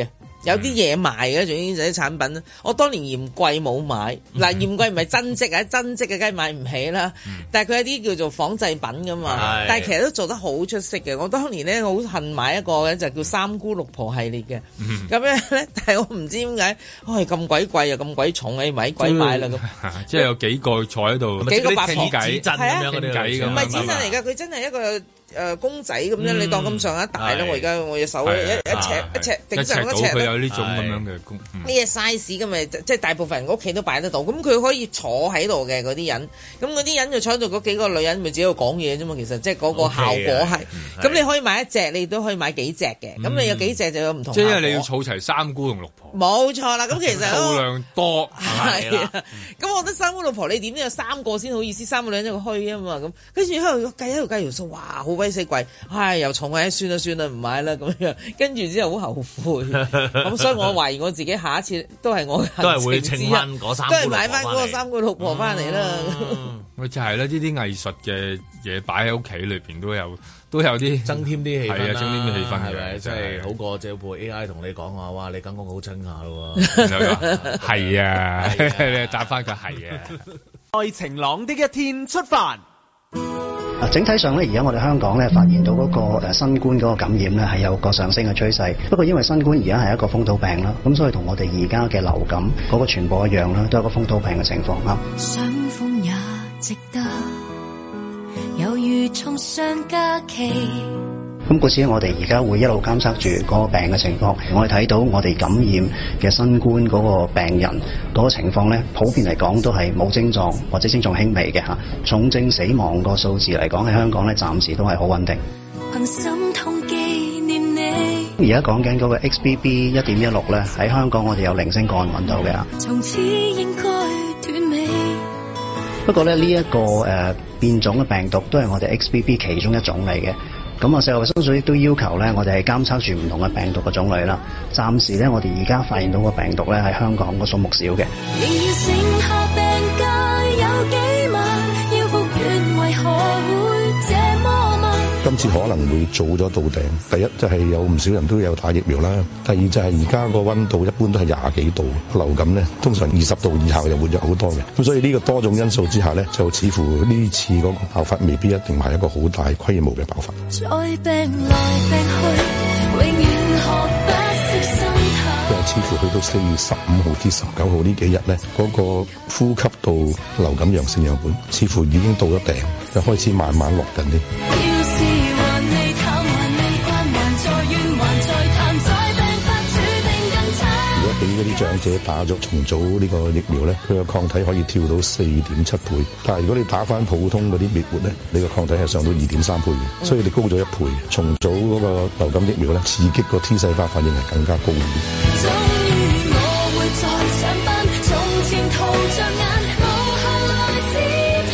Speaker 3: 有啲嘢賣嘅，總之就啲產品。我當年嫌貴冇買，嗱嫌貴唔係真跡啊，真跡嘅梗係買唔起啦。但係佢有啲叫做仿製品噶嘛，但係其實都做得好出色嘅。我當年咧好恨買一個嘅就叫三姑六婆系列嘅，咁樣咧，但係我唔知點解，唉咁鬼貴又咁鬼重，誒咪鬼買啦咁。
Speaker 2: 即係有幾個坐喺度，
Speaker 3: 幾個八婆
Speaker 2: 傾偈，
Speaker 3: 係啊，
Speaker 2: 傾偈咁。
Speaker 3: 唔係紙鎮嚟㗎，佢真係一個。誒、呃、公仔咁樣，嗯、你當咁上下大啦！我而家我隻手一一尺一尺頂上一尺咧，
Speaker 2: 佢有呢種咁樣嘅公呢
Speaker 3: 嘢 size 咁咪即係大部分人屋企都擺得到。咁佢可以坐喺度嘅嗰啲人，咁嗰啲人就坐喺度嗰幾個女人咪自己喺度講嘢啫嘛。其實即係嗰個效果係。咁、okay, 你可以買一隻，你都可以買幾隻嘅。咁、嗯、你有幾隻就有唔同。即係
Speaker 2: 你要儲齊三姑同六婆。
Speaker 3: 冇錯啦，咁其實
Speaker 2: 數量多
Speaker 3: 係啊。咁我覺得三姑六婆你點都有三個先好意思，三個女人一個虛啊嘛。咁跟住喺度計喺度計條數，哇，好鬼死貴。唉，又重啊！算啦算啦，唔買啦咁樣，跟住之後好後悔，咁所以我懷疑我自己下一次都係我
Speaker 1: 都係會稱翻嗰三，
Speaker 3: 都係買翻嗰個三姑六婆翻嚟啦。
Speaker 2: 咪就係啦，呢啲藝術嘅嘢擺喺屋企裏邊都有都有啲
Speaker 1: 增添啲氣氛，係啊，
Speaker 2: 增添啲氣氛
Speaker 1: 係咪？即係好過借部 A I 同你講話，哇！你間屋好清下咯，
Speaker 2: 係啊，你答翻佢係啊。
Speaker 4: 在晴朗的一天出發。
Speaker 8: 啊，整體上咧，而家我哋香港咧發現到嗰個誒新冠嗰個感染咧係有個上升嘅趨勢。不過因為新冠而家係一個風土病啦，咁所以同我哋而家嘅流感嗰個傳播一樣啦，都係一個風土病嘅情況啦。
Speaker 9: 傷風也值得，猶如從上假期。
Speaker 8: 咁故此我哋而家會一路監測住嗰個病嘅情況，我哋睇到我哋感染嘅新冠嗰個病人嗰個情況咧，普遍嚟講都係冇症狀或者症狀輕微嘅嚇，重症死亡個數字嚟講喺香港咧暫時都係好穩定。
Speaker 9: 心痛紀念你。
Speaker 8: 而家講緊嗰個 X B B 一點一六咧，喺香港我哋有零星個案揾到嘅。
Speaker 9: 從此應該斷尾。
Speaker 8: 不過咧呢一個誒、呃、變種嘅病毒都係我哋 X B B 其中一種嚟嘅。咁啊，世界衛生署亦都要求咧，我哋係監測住唔同嘅病毒嘅種類啦。暫時咧，我哋而家發現到個病毒咧喺香港個數目少嘅。
Speaker 10: 今次可能會早咗到頂。第一就係、是、有唔少人都有打疫苗啦。第二就係而家個溫度一般都係廿幾度，流感咧通常二十度以下又活躍好多嘅。咁所以呢個多種因素之下咧，就似乎呢次嗰個爆發未必一定係一個好大規模嘅爆發。
Speaker 9: 再病來病去，永遠學不識心態。
Speaker 10: 因為似乎去到四月十五號至十九號呢幾日咧，嗰、那個呼吸道流感陽性樣本似乎已經到咗頂，就開始慢慢落緊啲。如果俾嗰啲長者打咗重組呢個疫苗咧，佢個抗體可以跳到四點七倍。但係如果你打翻普通嗰啲滅活咧，你個抗體係上到二點三倍嘅，所以你高咗一倍。重組嗰個流感疫苗咧，刺激個 T 細胞反應係更加高啲。終於我會再上班，從前逃着眼，無限來自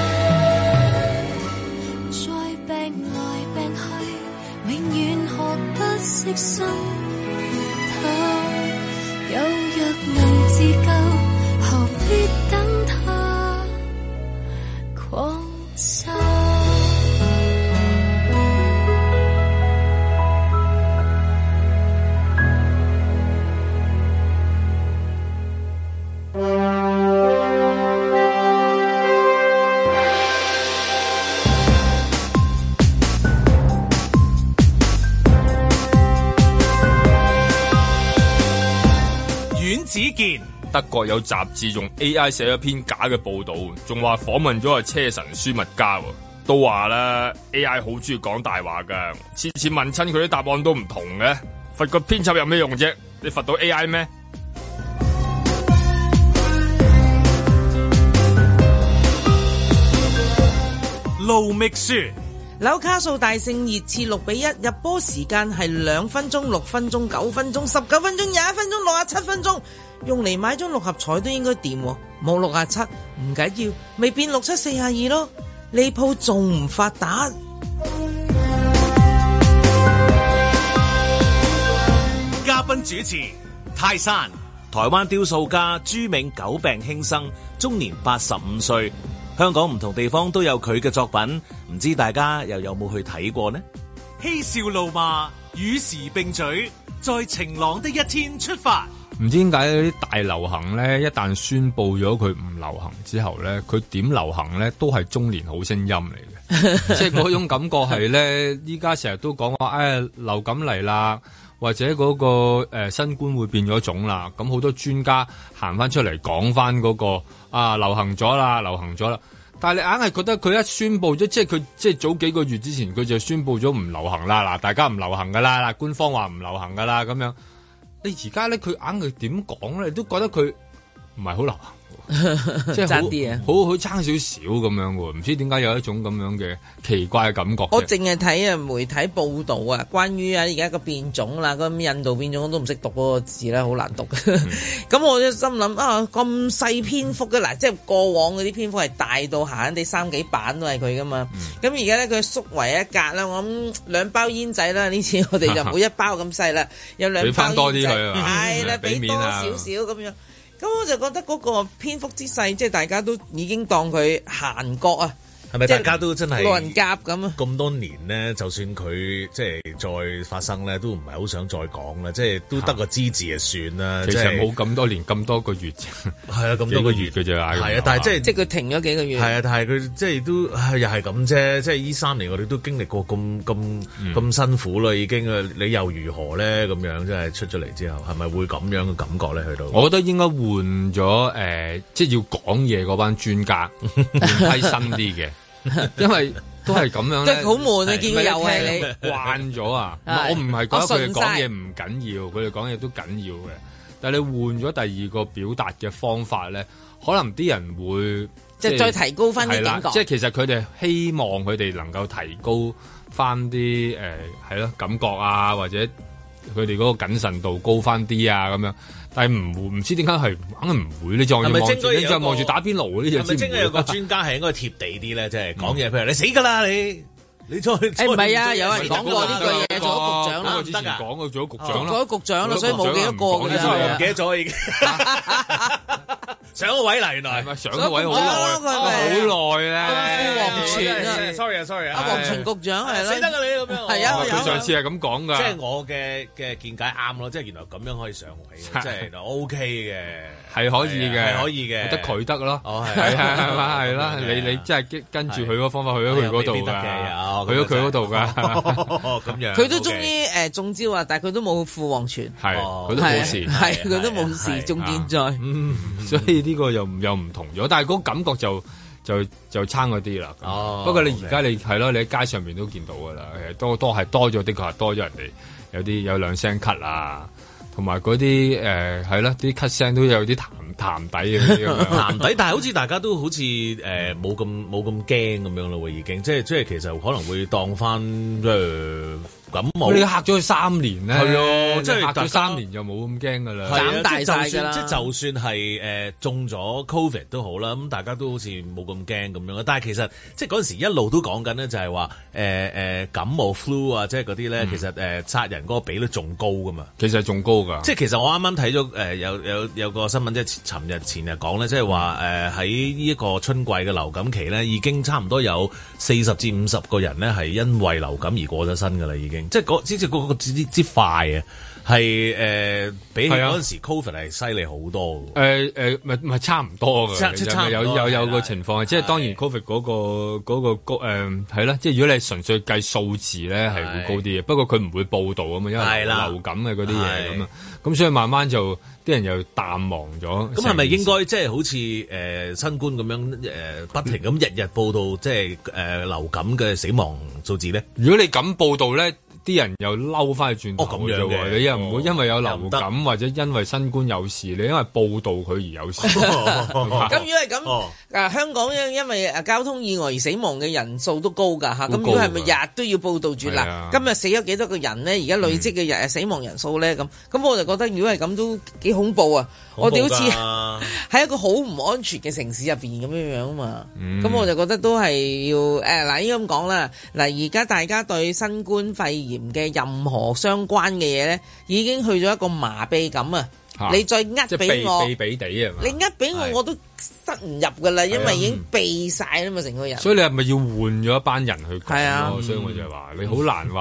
Speaker 9: 他。再病來病去，永遠學不識心態。有若能自救，何必等他狂曬？
Speaker 7: 子健，
Speaker 2: 德國有雜誌用 A I 寫咗篇假嘅報道，仲話訪問咗個車神舒密加，都話啦 A I 好中意講大話噶，次次問親佢啲答案都唔同嘅，罰個編輯有咩用啫？你罰到 A I 咩？
Speaker 7: 盧覓雪。
Speaker 3: 紐卡素大勝熱刺六比一，入波時間係兩分鐘、六分鐘、九分鐘、十九分鐘、廿一分鐘、六十七分鐘，用嚟買張六合彩都應該掂，冇六十七唔緊要，未變六七四廿二咯，呢鋪仲唔發達？
Speaker 7: 嘉賓主持泰山，
Speaker 1: 台灣雕塑家朱銘久病輕生，終年八十五歲。香港唔同地方都有佢嘅作品，唔知大家又有冇去睇過呢？
Speaker 7: 嬉笑怒罵與時並舉， 在晴朗的一天出發。
Speaker 2: 唔知點解啲大流行咧，一旦宣佈咗佢唔流行之後咧，佢點流行咧都係中年好聲音嚟嘅，即係嗰種感覺係咧，依家成日都講話，誒流感嚟啦，或者嗰、嗰個誒、呃、新冠會變咗種啦，咁好多專家行翻出嚟講翻嗰個啊流行咗啦，流行咗啦。但係你硬係覺得佢一宣佈咗，即係佢即係早幾個月之前佢就宣佈咗唔流行啦，嗱大家唔流行噶啦，嗱官方話唔流行噶啦咁樣。你而家咧佢硬係點講咧，你都覺得佢唔係好流行。即係好好好差少少咁樣喎，唔知點解有一種咁樣嘅奇怪嘅感覺。
Speaker 3: 我淨係睇啊媒體報道啊，關於啊而家個變種啦，咁印度變種我都唔識讀嗰個字啦，好難讀。咁、嗯、我就心諗啊，咁細篇幅嘅嗱，即係過往嗰啲篇幅係大到閒閒地三幾版都係佢噶嘛。咁而家咧佢縮為一格啦，我諗兩包煙仔啦，呢次我哋就唔好一包咁細啦，有兩包煙仔，俾翻多啲佢啊，係啦，俾多少少咁樣。咁我就覺得嗰個篇幅之細，即係大家都已經當佢閒角啊。
Speaker 1: 係咪大家都真係
Speaker 3: 路人甲咁啊？
Speaker 1: 咁多年咧，就算佢即係再發生咧，都唔係好想再講啦。即係都得個知字就算啦。
Speaker 2: 其實冇咁多年，咁多個月啫。
Speaker 1: 係啊，咁多個月嘅啫。係啊，但係即係
Speaker 3: 即係佢停咗幾個月。
Speaker 1: 係啊，但係佢即係都又係咁啫。即係呢三年我哋都經歷過咁咁咁辛苦啦，已經啊，你又如何咧？咁樣即係出咗嚟之後，係咪會咁樣嘅感覺咧？去到
Speaker 2: 我覺得應該換咗誒，即係要講嘢嗰班專家係新啲嘅。因為都係咁樣咧，
Speaker 3: 即係好悶啊！見到又係你
Speaker 2: 慣咗啊！我唔係覺得佢哋講嘢唔緊要，佢哋講嘢都緊要嘅。但係你換咗第二個表達嘅方法咧，可能啲人會
Speaker 3: 即係再提高翻啲感覺。
Speaker 2: 即係其實佢哋希望佢哋能夠提高翻啲誒係咯感覺啊，或者佢哋嗰個謹慎度高翻啲啊咁樣。但係唔會，唔知點解係硬係唔會。你再望住，你再望住打邊爐嗰啲就知唔會。係咪應該有個專
Speaker 1: 家係應該貼地啲咧？即係講嘢，譬如你死㗎啦你。你再誒
Speaker 3: 唔係啊！有人講過呢句嘢，做咗局長啦，
Speaker 2: 之前講過做咗局長啦，
Speaker 3: 做咗局長啦，所以冇幾多個嘅，
Speaker 1: 唔記得咗已經。上個位嚟，原來
Speaker 2: 係咪上個位好耐？好耐啊！
Speaker 3: 副王全啊
Speaker 1: ，sorry 啊，sorry 啊，
Speaker 3: 阿王全局長係啦，
Speaker 1: 死得㗎你咁樣。
Speaker 3: 係啊，
Speaker 2: 佢上次係咁講㗎。
Speaker 1: 即係我嘅嘅見解啱咯，即係原來咁樣可以上位，即係 OK 嘅，
Speaker 2: 係可以嘅，
Speaker 1: 係可以嘅，
Speaker 2: 得佢得咯。
Speaker 1: 哦，係
Speaker 2: 係係嘛係啦，你你即係跟住佢嗰方法去咗佢嗰度㗎，去咗佢嗰度㗎。
Speaker 1: 咁樣，
Speaker 3: 佢都終於誒中招啊！但係佢都冇副王全，
Speaker 2: 係佢都冇事，
Speaker 3: 係佢都冇事，中健在。
Speaker 2: 嗯，所以呢個又又唔同咗，但係嗰感覺就就就差嗰啲啦。
Speaker 1: 哦，
Speaker 2: 不過你而家你係咯，你喺街上面都見到㗎啦，誒多多係多咗，的確係多咗人哋有啲有兩聲咳啊，同埋嗰啲誒係咯，啲咳聲都有啲痰痰底嘅啲咁樣，
Speaker 1: 痰底，但係好似大家都好似誒冇咁冇咁驚咁樣咯喎，已經即係即係其實可能會當翻誒。呃咁冇
Speaker 2: 你嚇咗佢三年咧，
Speaker 1: 係啊，即係
Speaker 2: 嚇咗三年就冇咁驚噶啦，
Speaker 3: 長大晒㗎啦。
Speaker 1: 即係就算係誒、呃、中咗 Covid 都好啦，咁大家都好似冇咁驚咁樣。但係其實即係嗰陣時一路都講緊咧，就係話誒誒感冒 flu 啊，即係嗰啲咧，其實誒殺人嗰個比率仲高噶嘛。
Speaker 2: 其實仲高㗎。
Speaker 1: 即係其實我啱啱睇咗誒有有有個新聞，即係尋日前日講咧，即係話誒喺呢一個春季嘅流感期咧，已經差唔多有四十至五十個人咧係因為流感而過咗身㗎啦，已經。即係嗰即係嗰個之之快啊，係誒比起嗰陣時 Covid 係犀利好多嘅。
Speaker 2: 誒誒，唔係唔係差唔多嘅，
Speaker 1: 即係
Speaker 2: 有有有個情況，即係當然 Covid 嗰個嗰個高誒係啦，即係如果你純粹計數字咧係會高啲嘅，不過佢唔會報導啊嘛，因為流感嘅嗰啲嘢咁啊，咁所以慢慢就啲人又淡忘咗。
Speaker 1: 咁係咪應該即係好似誒新冠咁樣誒不停咁日日報導即係誒流感嘅死亡數字咧？
Speaker 2: 如果你咁報導咧，啲人又嬲翻去轉頭嘅喎，你又唔會因為有流感或者因為新冠有事，你因為報導佢而有事。
Speaker 3: 咁如果係咁，啊香港因因為誒交通意外而死亡嘅人數都高㗎嚇，咁如果係咪日日都要報導住嗱？今日死咗幾多個人咧？而家累積嘅日死亡人數咧咁，咁我就覺得如果係咁都幾恐怖啊！我哋好似喺一個好唔安全嘅城市入邊咁樣樣啊嘛，咁我就覺得都係要誒嗱，應該咁講啦。嗱，而家大家對新冠肺炎嘅任何相關嘅嘢咧，已經去咗一個麻痹感啊！你再呃俾我，
Speaker 2: 避避地啊！
Speaker 3: 你呃俾我，我都塞唔入噶啦，因為已經避晒啦嘛，成個人。
Speaker 2: 所以你係咪要換咗一班人去講咯？所以我就話你好難話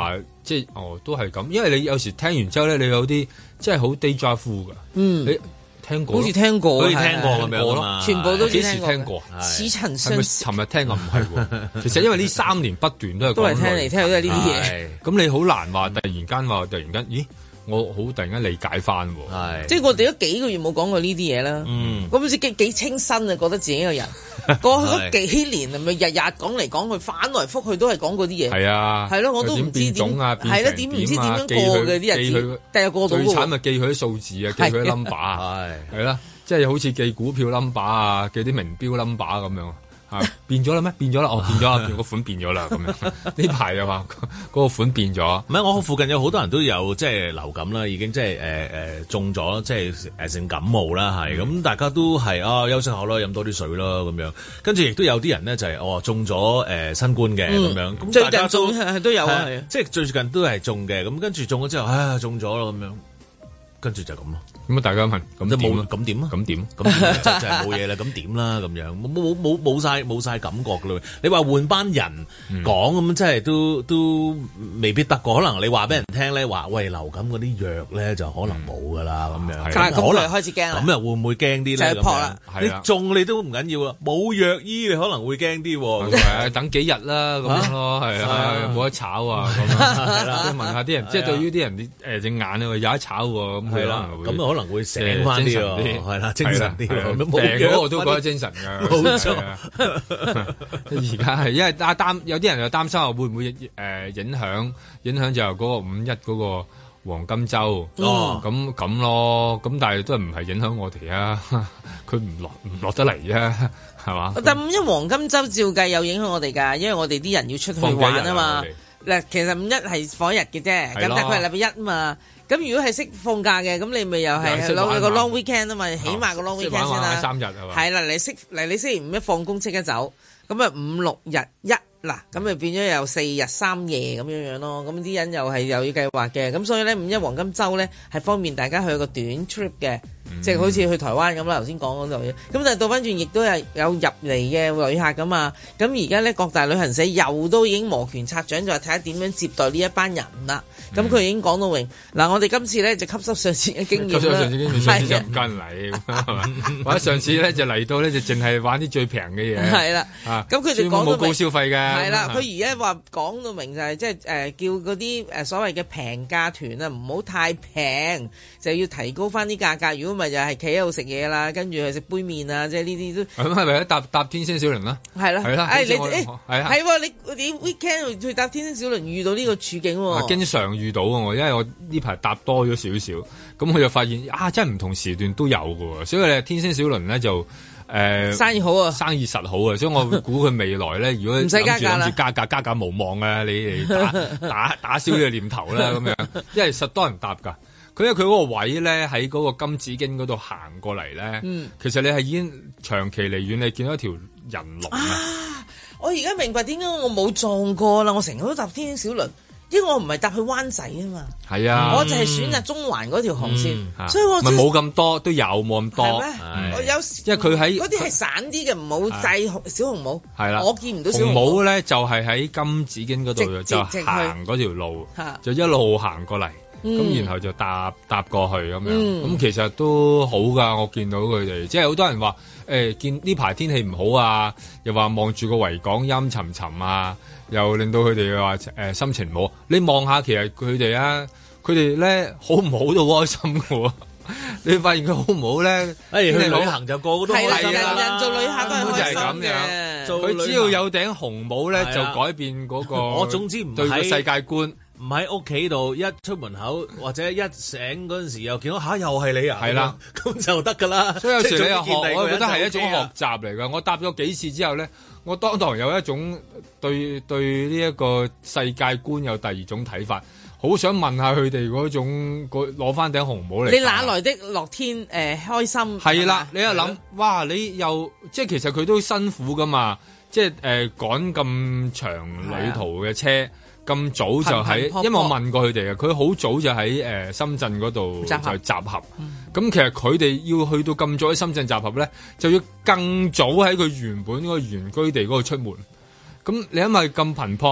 Speaker 2: 即係哦，都係咁，因為你有時聽完之後咧，你有啲即係好 déjà vu 㗎。
Speaker 3: 嗯，
Speaker 2: 你聽過，
Speaker 3: 好似聽過，
Speaker 1: 好似聽過咁樣咯，
Speaker 3: 全部都
Speaker 2: 幾時聽過？
Speaker 3: 似曾相識。
Speaker 2: 尋日聽過唔係喎，其實因為呢三年不斷都係
Speaker 3: 都係聽嚟聽去都係呢啲嘢。
Speaker 2: 咁你好難話突然間話突然間，咦？我好突然間理解翻喎，
Speaker 1: 係
Speaker 3: 即係我哋都幾個月冇講過呢啲嘢啦。嗯，咁好似幾幾清新啊，覺得自己個人過去嗰幾年係咪日日講嚟講去，反來覆去都係講嗰啲嘢。係
Speaker 2: 啊，
Speaker 3: 係咯，我都唔知點係啦，點唔知點樣過嘅啲日子，第日過到。
Speaker 2: 最慘咪記佢啲數字啊，記佢啲 number 啊，係係啦，即係好似記股票 number 啊，記啲名標 number 咁樣。啊，變咗啦咩？變咗啦！哦，變咗啦！個款變咗啦！咁樣呢排又話嗰個款變咗。
Speaker 1: 唔係，我附近有好多人都有即係流感啦，已經即係誒誒中咗，即係誒成感冒啦，係咁、嗯、大家都係啊休息下咯，飲多啲水咯咁樣。跟住亦都有啲人咧就係、是、哦中咗誒、呃、新冠嘅咁、嗯、樣。咁
Speaker 3: 最近中係都有啊，
Speaker 1: 即係最近都係中嘅。咁跟住中咗之後，唉中咗咯咁樣，跟住就咁咯。
Speaker 2: 咁啊！大家問咁點啊？
Speaker 1: 咁點啊？
Speaker 2: 咁點？
Speaker 1: 咁就就係冇嘢啦。咁點啦？咁樣冇冇冇冇晒冇晒感覺噶啦！你話換班人講咁，真係都都未必得過。可能你話俾人聽咧，話喂流感嗰啲藥咧就可能冇噶啦咁樣。
Speaker 3: 但係可能開始驚啦。
Speaker 1: 咁又會唔會驚啲咧？
Speaker 3: 就係撲啦！
Speaker 1: 你中你都唔緊要啦，冇藥醫你可能會驚啲。
Speaker 2: 係等幾日啦咁樣咯，係啊，冇得炒啊咁啊，係啦。問下啲人，即係對於啲人誒隻眼啊有得炒喎，咁係啦，咁
Speaker 1: 可能會醒翻啲喎，係啦，精神啲。
Speaker 2: 病嗰個都覺得精神㗎，
Speaker 1: 冇錯。
Speaker 2: 而家係因為擔擔有啲人又擔心話會唔會誒影響影響就係嗰個五一嗰個黃金週哦，咁咁咯，咁但係都唔係影響我哋啊，佢唔落唔落得嚟啫，係嘛？
Speaker 3: 但五一黃金週照計有影響我哋㗎，因為我哋啲人要出去玩啊嘛。嗱，其實五一係放一日嘅啫，咁但係佢係禮拜一啊嘛。咁如果係識放假嘅，咁你咪又係攞個 long weekend 啊嘛，起碼個 long weekend 先啦。
Speaker 2: 三日係嘛？
Speaker 3: 係啦，你識嚟你星期五一放工即刻走，咁啊五六日一嗱，咁咪變咗有四日三夜咁樣樣咯。咁啲人又係又要計劃嘅，咁所以咧五一黃金週咧係方便大家去個短 trip 嘅。即係好似去台灣咁啦，頭先講嗰度嘢，咁但係倒翻轉亦都係有入嚟嘅旅客噶嘛。咁而家咧各大旅行社又都已經摩拳擦掌，就係睇下點樣接待呢一班人啦。咁佢、嗯、已經講到明嗱，我哋今次咧就吸收上次嘅經驗啦。吸收上次經驗，上次就唔跟嚟，係嘛？或者上次咧就嚟到咧就淨係玩啲最平嘅嘢。係啦，咁佢哋講到冇高消費嘅。係啦，佢而家話講到明就係即係誒叫嗰啲誒所謂嘅平價團啊，唔好太平，就要提高翻啲價格。如果咪就係企喺度食嘢啦，跟住去食杯麵啊，即係呢啲都咁係咪搭搭天星小輪啦？係啦，係啦，誒你誒係啊，係喎，你你 weekend 去搭天星小輪遇到呢個處境喎，經常遇到喎，因為我呢排搭多咗少少，咁我就發現啊，真係唔同時段都有嘅喎，所以咧天星小輪咧就誒生意好啊，生意實好啊，所以我估佢未來咧，如果唔使加價啦，諗住加價加價無望啊，你嚟打打打消呢個念頭啦，咁樣，因為實多人搭㗎。佢因為佢嗰個位咧喺嗰個金紫荊嗰度行過嚟咧，嗯、其實你係已經長期離遠你見到一條人龍啊！ 我而家明白點解我冇撞過啦，我成日都搭天星小輪，因為我唔係搭去灣仔啊嘛，係啊，我就係選擇中環嗰條航線，嗯、所以我咪
Speaker 2: 冇咁多，都有冇咁多，係
Speaker 3: 咩？我有時
Speaker 2: 因為佢喺
Speaker 3: 嗰啲係散啲嘅，唔好制小紅帽，係啦，我見唔到小紅
Speaker 2: 帽咧，就係喺金紫荊嗰度就行嗰條路，就一路行過嚟。咁、嗯、然後就搭搭過去咁樣，咁、嗯、其實都好噶。我見到佢哋，即係好多人話誒、欸，見呢排天氣唔好啊，又話望住個維港陰沉沉啊，又令到佢哋話誒心情唔好。你望下，其實佢哋啊，佢哋咧好唔好都開心噶喎。你發現佢好唔好咧？誒、哎，去旅行就個個都開心啦。人人做旅客都係開心嘅。佢只要有頂紅帽咧，就改變嗰個。我總之唔對個世界觀。唔喺屋企度，一出門口或者一醒嗰陣時又見到吓，又係你啊！係啦，咁就得噶啦。所以有時你又學，我覺得係一種學習嚟噶。我搭咗幾次之後咧，我當堂有一種對對呢一個世界觀有第二種睇法。好想問下佢哋嗰種攞翻頂紅帽嚟。你哪來的樂天誒、呃、開心？係啦，你又諗哇，你又即係其實佢都辛苦噶嘛，即係誒趕咁長旅途嘅車。咁早就喺，因為我問過佢哋嘅，佢好早就喺誒深圳嗰度就集合。咁、嗯、其實佢哋要去到咁早喺深圳集合咧，就要更早喺佢原本嗰個原居地嗰度出門。咁你因為咁頻撲，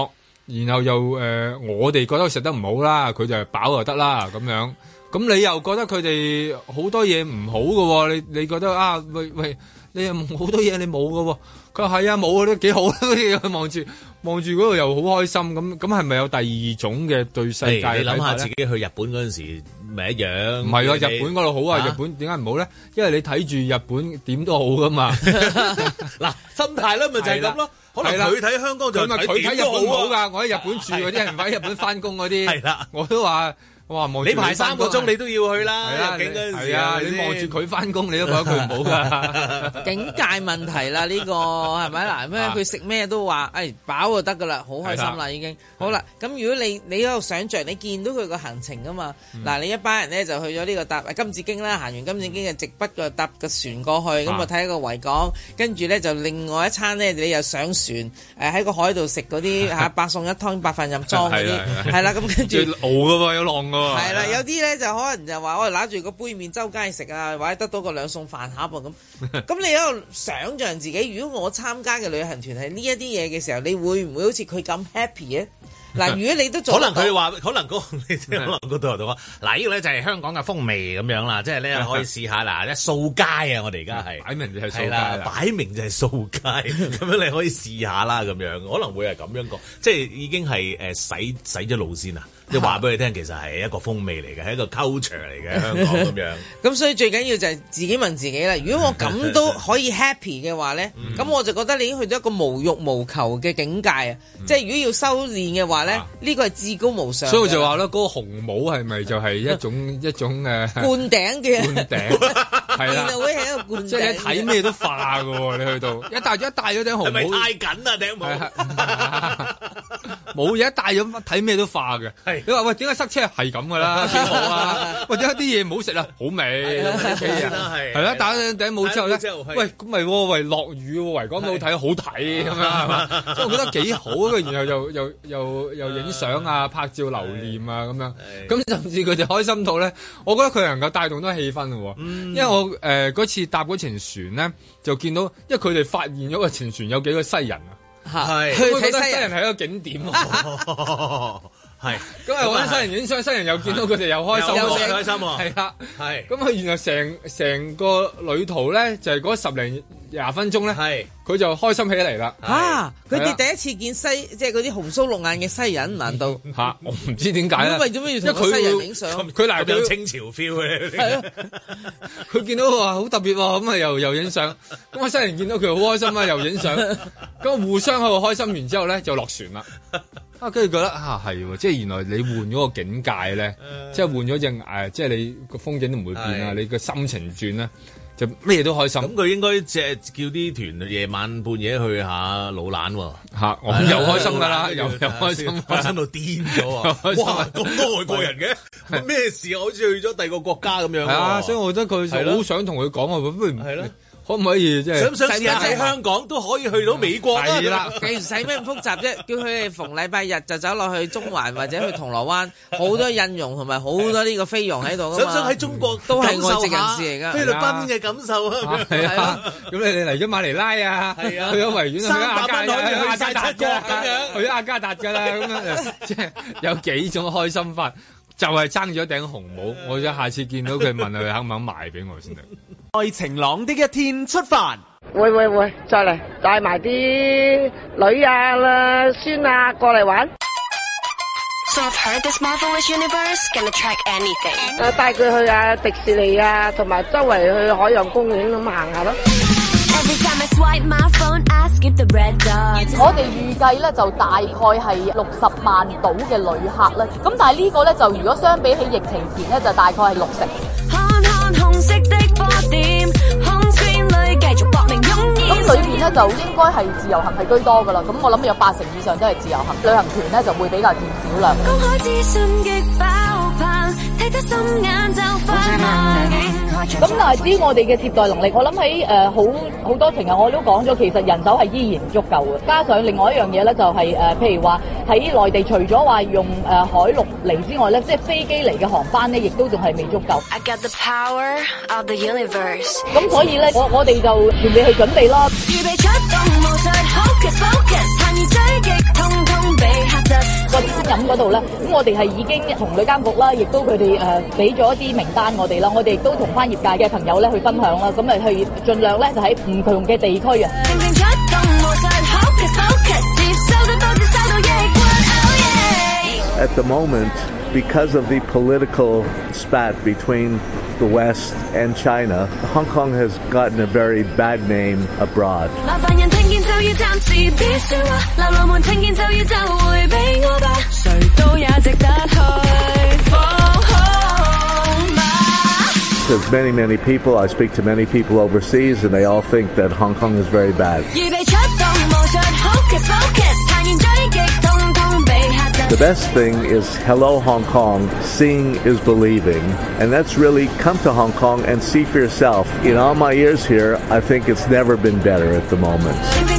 Speaker 2: 然後又誒、呃，我哋覺得食得唔好啦，佢就係飽就得啦咁樣。咁你又覺得佢哋好多嘢唔好嘅喎？你你覺得啊？喂喂，你又好多嘢你冇嘅喎？佢話係啊，冇啊，都幾好啦。佢望住望住嗰度又好開心。咁咁係咪有第二種嘅對世界？
Speaker 1: 你諗下自己去日本嗰陣時，咪一樣？唔係
Speaker 2: 啊，日本嗰度好啊。啊日本點解唔好咧？因為你睇住日本點都好噶嘛。
Speaker 1: 嗱，心態咧咪就係咁咯。可能佢睇香港就
Speaker 2: 佢睇日本好㗎。我喺日本住嗰啲人，喺日本翻工嗰啲，係啦，我都話。哇！望住
Speaker 1: 你排三個鐘，你都要去啦。入境嗰陣時，
Speaker 2: 係啊，你望住佢翻工，你都覺得佢唔好噶。
Speaker 3: 境界問題啦，呢個係咪嗱？咩佢食咩都話，誒飽就得噶啦，好開心啦已經。好啦，咁如果你你喺度想像，你見到佢個行程噶嘛？嗱，你一班人咧就去咗呢個搭金紫荊啦，行完金紫荊就直筆個搭個船過去，咁啊睇個維港，跟住咧就另外一餐咧，你又上船誒喺個海度食嗰啲嚇八餸一湯八飯任裝嗰啲，係啦，咁跟住
Speaker 2: 熬噶喎，有浪噶。
Speaker 3: 係啦，有啲咧就可能就話我哋揦住個杯麵周街食啊，或者得到個兩餸飯盒噃咁。咁你喺度想像自己，如果我參加嘅旅行團係呢一啲嘢嘅時候，你會唔會好似佢咁 happy 咧？嗱，如果你都做，
Speaker 1: 可能佢話，可能嗰你可能嗰度同我嗱，呢個咧就係香港嘅風味咁樣啦，即係咧可以試下嗱，一掃街啊！我哋而家係擺明就係掃街啦，擺明就係掃街，咁樣你可以試下啦，咁樣可能會係咁樣講，即係已經係誒洗洗咗路先啊！即係話俾你聽，其實係一個風味嚟嘅，係一個 culture 嚟嘅香港咁樣。咁
Speaker 3: 所以最緊要就係自己問自己啦。如果我咁都可以 happy 嘅話咧，咁我就覺得你已經去到一個無欲無求嘅境界啊！即係如果要修煉嘅話咧，呢個係至高無上。所以我就話咧，嗰個紅帽係咪就係一種一種誒
Speaker 2: 灌
Speaker 3: 頂嘅
Speaker 2: 灌頂？係啦，
Speaker 3: 會係一個灌頂。
Speaker 2: 即係一睇咩都化嘅喎，你去到一戴咗一戴咗頂紅帽，係咪
Speaker 1: 太緊啊頂帽？
Speaker 2: 冇嘢一戴咗睇咩都化嘅。你話喂，點解塞車係咁噶啦？幾好啊！或者啲嘢唔好食啊，好味。係啦，戴咗頂帽之後咧，喂咁咪喂落雨喎，維港都好睇，好睇咁樣係嘛？所以我覺得幾好啊！然後又又又又影相啊，拍照留念啊咁樣。咁甚至佢哋開心到咧，我覺得佢能夠帶動到氣氛喎。因為我誒嗰次搭嗰程船咧，就見到，因為佢哋發現咗個程船有幾個西人啊。係，佢覺得西人係一個景點。係，咁啊揾西人影相，西人又見到佢哋又開心，
Speaker 1: 又開心喎，
Speaker 2: 係啦，係，咁啊原來成成個旅途咧，就係嗰十零廿分鐘咧，係，佢就開心起嚟啦。
Speaker 3: 嚇，佢哋第一次見西，即係嗰啲紅鬚綠眼嘅西人，難道
Speaker 2: 嚇？我唔知點解咧。
Speaker 3: 為咗咩要同西人影相？
Speaker 2: 佢嗱
Speaker 1: 有清朝 feel 嘅，
Speaker 2: 係咯。佢見到話好特別喎，咁啊又又影相，咁啊西人見到佢好開心啊，又影相，咁啊互相喺度開心完之後咧，就落船啦。啊，跟住覺得啊係喎，即係原來你換咗個境界咧，即係換咗隻誒，即係你個風景都唔會變啊，你個心情轉咧，就咩都開心。咁
Speaker 1: 佢應該即係叫啲團夜晚半夜去下老蘭喎。
Speaker 2: 嚇，我又開心㗎啦，又又開心，
Speaker 1: 開心到癲咗啊！哇，咁多外國人嘅，咩事啊？好似去咗第二個國家咁樣。係
Speaker 2: 啊，所以我覺得佢好想同佢講啊，不如係咯。可唔可以即係
Speaker 1: 想唔想試下喺香港都可以去到美國啊？
Speaker 3: 係啦，其實使咩咁複雜啫？叫佢哋逢禮拜日就走落去中環或者去銅鑼灣，好多印傭同埋好多呢個菲傭喺度噶嘛。
Speaker 1: 想唔想喺中國
Speaker 3: 都係外籍人士嚟㗎？
Speaker 1: 菲律賓嘅感受啊！
Speaker 2: 係啊，咁你哋嚟咗馬尼拉啊？係啊，去咗維園，去咗阿加達，去晒七國咁樣，去咗阿加達㗎啦，咁樣即係有幾種開心法，就係爭咗頂紅帽。我想下次見到佢問佢肯唔肯賣俾我先得。
Speaker 4: 在晴朗的一天出發。
Speaker 11: 喂喂喂，再嚟帶埋啲女啊啦孫啊過嚟玩。
Speaker 12: So I've heard this marvelous universe can attract anything。
Speaker 11: 誒，帶佢去啊迪士尼啊，同埋周圍去海洋公園咁行下咯。
Speaker 13: 我哋預計咧就大概係六十萬度嘅旅客咧，咁但係呢個咧就如果相比起疫情前咧，就大概係六成。咁裏邊咧就應該係自由行係居多噶啦，咁我諗有八成以上都係自由行，旅行團咧就會比較佔少量。咁但係至於我哋嘅接待能力，我諗喺誒好好多程日我都講咗，其實人手係依然唔足夠嘅。加上另外一樣嘢咧，就係、是、誒、呃，譬如話喺內地除咗話用誒、呃、海陸嚟之外咧，即係飛機嚟嘅航班咧，亦都仲係未足夠。
Speaker 12: I got the power of the universe。
Speaker 13: 咁所以咧，我我哋就全力去準備咯。預備出動，無術 focus focus，參與追擊，通通俾。 個餐飲嗰度咧，咁我哋係已經同旅監局啦，亦都佢哋誒俾咗一啲名單我哋啦，我哋亦都同翻業界嘅朋友咧去分享啦，咁誒去盡量咧就喺唔同嘅地區啊。
Speaker 14: At the moment, because of the political spat between the West and China, Hong Kong has gotten a very bad name abroad. There's many, many people. I speak to many people overseas, and they all think that Hong Kong is very bad. The best thing is Hello Hong Kong, seeing is believing, and that's really come to Hong Kong and see for yourself. In all my years here, I think it's never been better at the moment.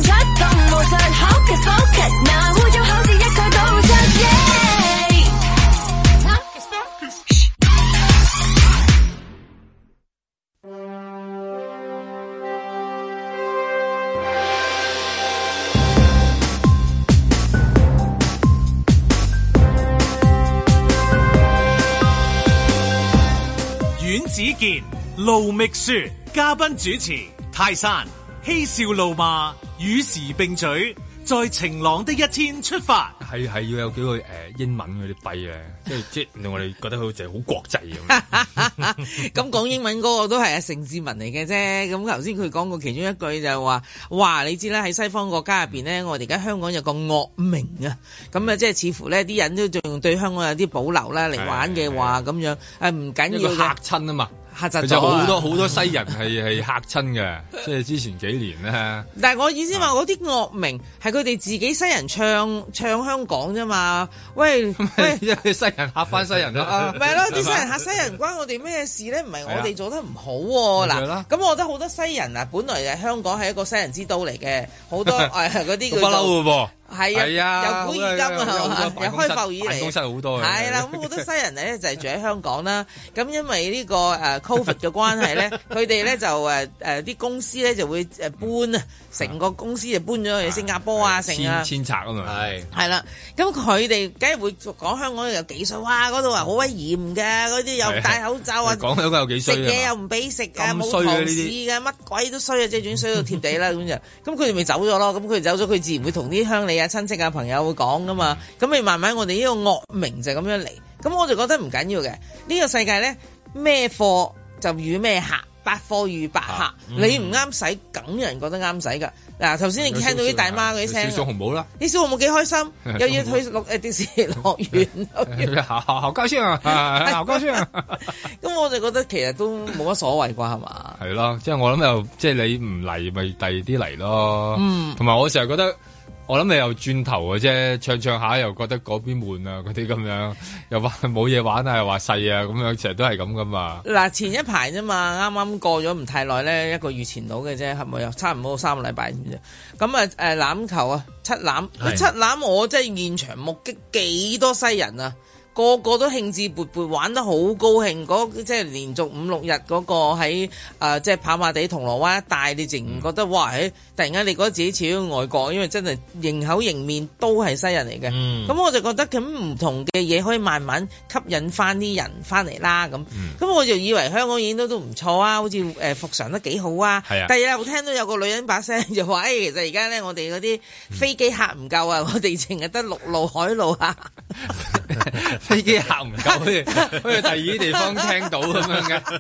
Speaker 7: 子健、盧覓雪，嘉賓主持泰山，嬉笑怒罵，與時並舉，在晴朗的一天出發。
Speaker 2: 係係要有幾個誒、呃、英文嗰啲幣咧，即係即係令我哋覺得好似好國際咁。
Speaker 3: 咁講英文嗰個都係阿盛志文嚟嘅啫。咁頭先佢講過其中一句就係話，哇！你知啦，喺西方國家入邊咧，我哋而家香港有個惡名啊。咁啊，即係似乎咧啲人都仲對香港有啲保留啦，嚟玩嘅話咁樣誒唔緊要嘅。
Speaker 2: 嚇親啊嘛！
Speaker 3: 嚇窒咗，
Speaker 2: 就好多好多西人係係嚇親嘅，即係之前幾年咧。但係我意思話，嗰啲惡名係佢哋自己西人唱唱香港啫嘛。喂喂，因為西人嚇翻西人啦。
Speaker 3: 唔係咯，啲西人嚇西人關我哋咩事咧？唔係我哋做得唔好喎。嗱，咁我覺得好多西人啊，本來誒香港係一個西人之都嚟嘅，好多誒嗰啲叫做不嬲嘅噃。係啊，由古而今啊，由開埠以嚟，辦公室好多嘅。係啦，咁好多西人咧就係住喺香港啦。咁因為呢個誒 Covid 嘅關係咧，佢哋咧就誒誒啲公司咧就會誒搬啊，成個公司就搬咗去新加坡啊，成啊
Speaker 2: 遷拆啊嘛。係
Speaker 3: 係啦，咁佢哋梗係會講香港有幾衰，哇！嗰度話好威嚴嘅，嗰啲又戴口罩啊，
Speaker 2: 講香港有幾衰，
Speaker 3: 食嘢又唔俾食啊，冇堂食嘅，乜鬼都衰啊，即係總衰到貼地啦咁就。咁佢哋咪走咗咯，咁佢哋走咗，佢自然會同啲鄉里啊、親戚啊、朋友會講噶嘛，咁咪慢慢我哋呢個惡名就咁樣嚟，咁我就覺得唔緊要嘅。呢個世界咧，咩貨就與咩客，百貨與百客，啊嗯、你唔啱使，梗有人覺得啱使噶。嗱，頭先你聽到啲大媽嗰啲聲，
Speaker 2: 小紅帽啦，
Speaker 3: 啲小紅帽幾開心，又要去錄誒迪士尼樂園，
Speaker 2: 好好好高興啊，好高興啊！
Speaker 3: 咁我就覺得其實都冇乜所謂啩，係嘛？
Speaker 2: 係咯，即係我諗又即係你唔嚟咪第二啲嚟咯，嗯，同埋我成日覺得。我諗你又轉頭嘅啫，唱唱下又覺得嗰邊悶啊，嗰啲咁樣，又話冇嘢玩啊，又話細啊，咁樣成日都係咁噶嘛。嗱，
Speaker 3: 前一排啫嘛，啱啱過咗唔太耐咧，一個月前到嘅啫，係咪又差唔多三個禮拜咁啫？咁啊誒欖球啊，七欖，是七欖我真係現場目擊幾多西人啊！個個都興致勃勃玩得好高興，嗰即係連續五六日嗰個喺誒、呃、即係跑馬地銅鑼灣一帶，你淨覺得、嗯、哇！誒突然間你覺得自己似咗外國，因為真係迎口迎面都係西人嚟嘅。咁、嗯、我就覺得咁唔同嘅嘢可以慢慢吸引翻啲人翻嚟啦。咁咁、嗯、我就以為香港演都都唔錯啊，好似誒復常得幾好啊。係啊，第二日我聽到有個女人把聲就話：誒、哎、其實而家咧我哋嗰啲飛機客唔夠啊，嗯、我哋淨係得陸路海路啊。
Speaker 2: 飛機客唔夠，好似好似第二啲地方聽到咁樣嘅。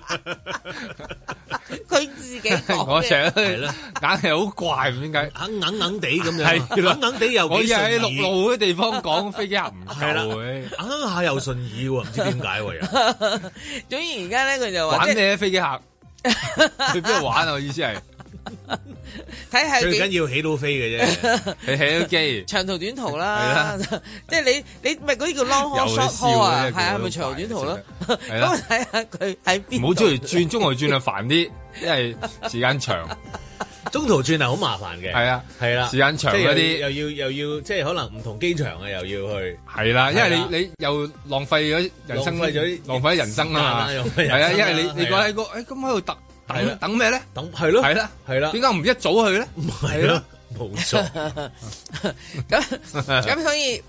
Speaker 3: 佢自己講
Speaker 2: 我成日都係咯，硬係好怪，唔知點解，硬硬硬地咁樣，硬硬地又幾順意。我喺陸路嗰啲地方講飛機客唔夠，
Speaker 1: 硬下又順意喎，唔知點解喎又。
Speaker 3: 總之而家咧，佢就話
Speaker 2: 玩咩飛機客？去邊度玩啊？我意思係。
Speaker 3: 睇下
Speaker 1: 最緊要起到飛嘅啫，
Speaker 2: 你起到機，
Speaker 3: 長途短途啦，即係你你咪嗰啲叫 long haul short haul 啊，係啊，咪長途短途咯。咁睇下佢喺邊。
Speaker 2: 唔好中意轉中途轉就煩啲，因為時間長。
Speaker 1: 中途轉係好麻煩嘅，係啊，係啦，
Speaker 2: 時間長嗰啲
Speaker 1: 又要又要，即係可能唔同機場啊，又要去。
Speaker 2: 係啦，因為你你又浪費咗人生，浪費咗浪費咗人生啊嘛，係啊，因為你你講喺個誒咁喺度特。等等咩咧？等係咯，係啦，係啦。點解唔一早去咧？
Speaker 1: 唔係咯，冇錯。
Speaker 3: 咁咁所以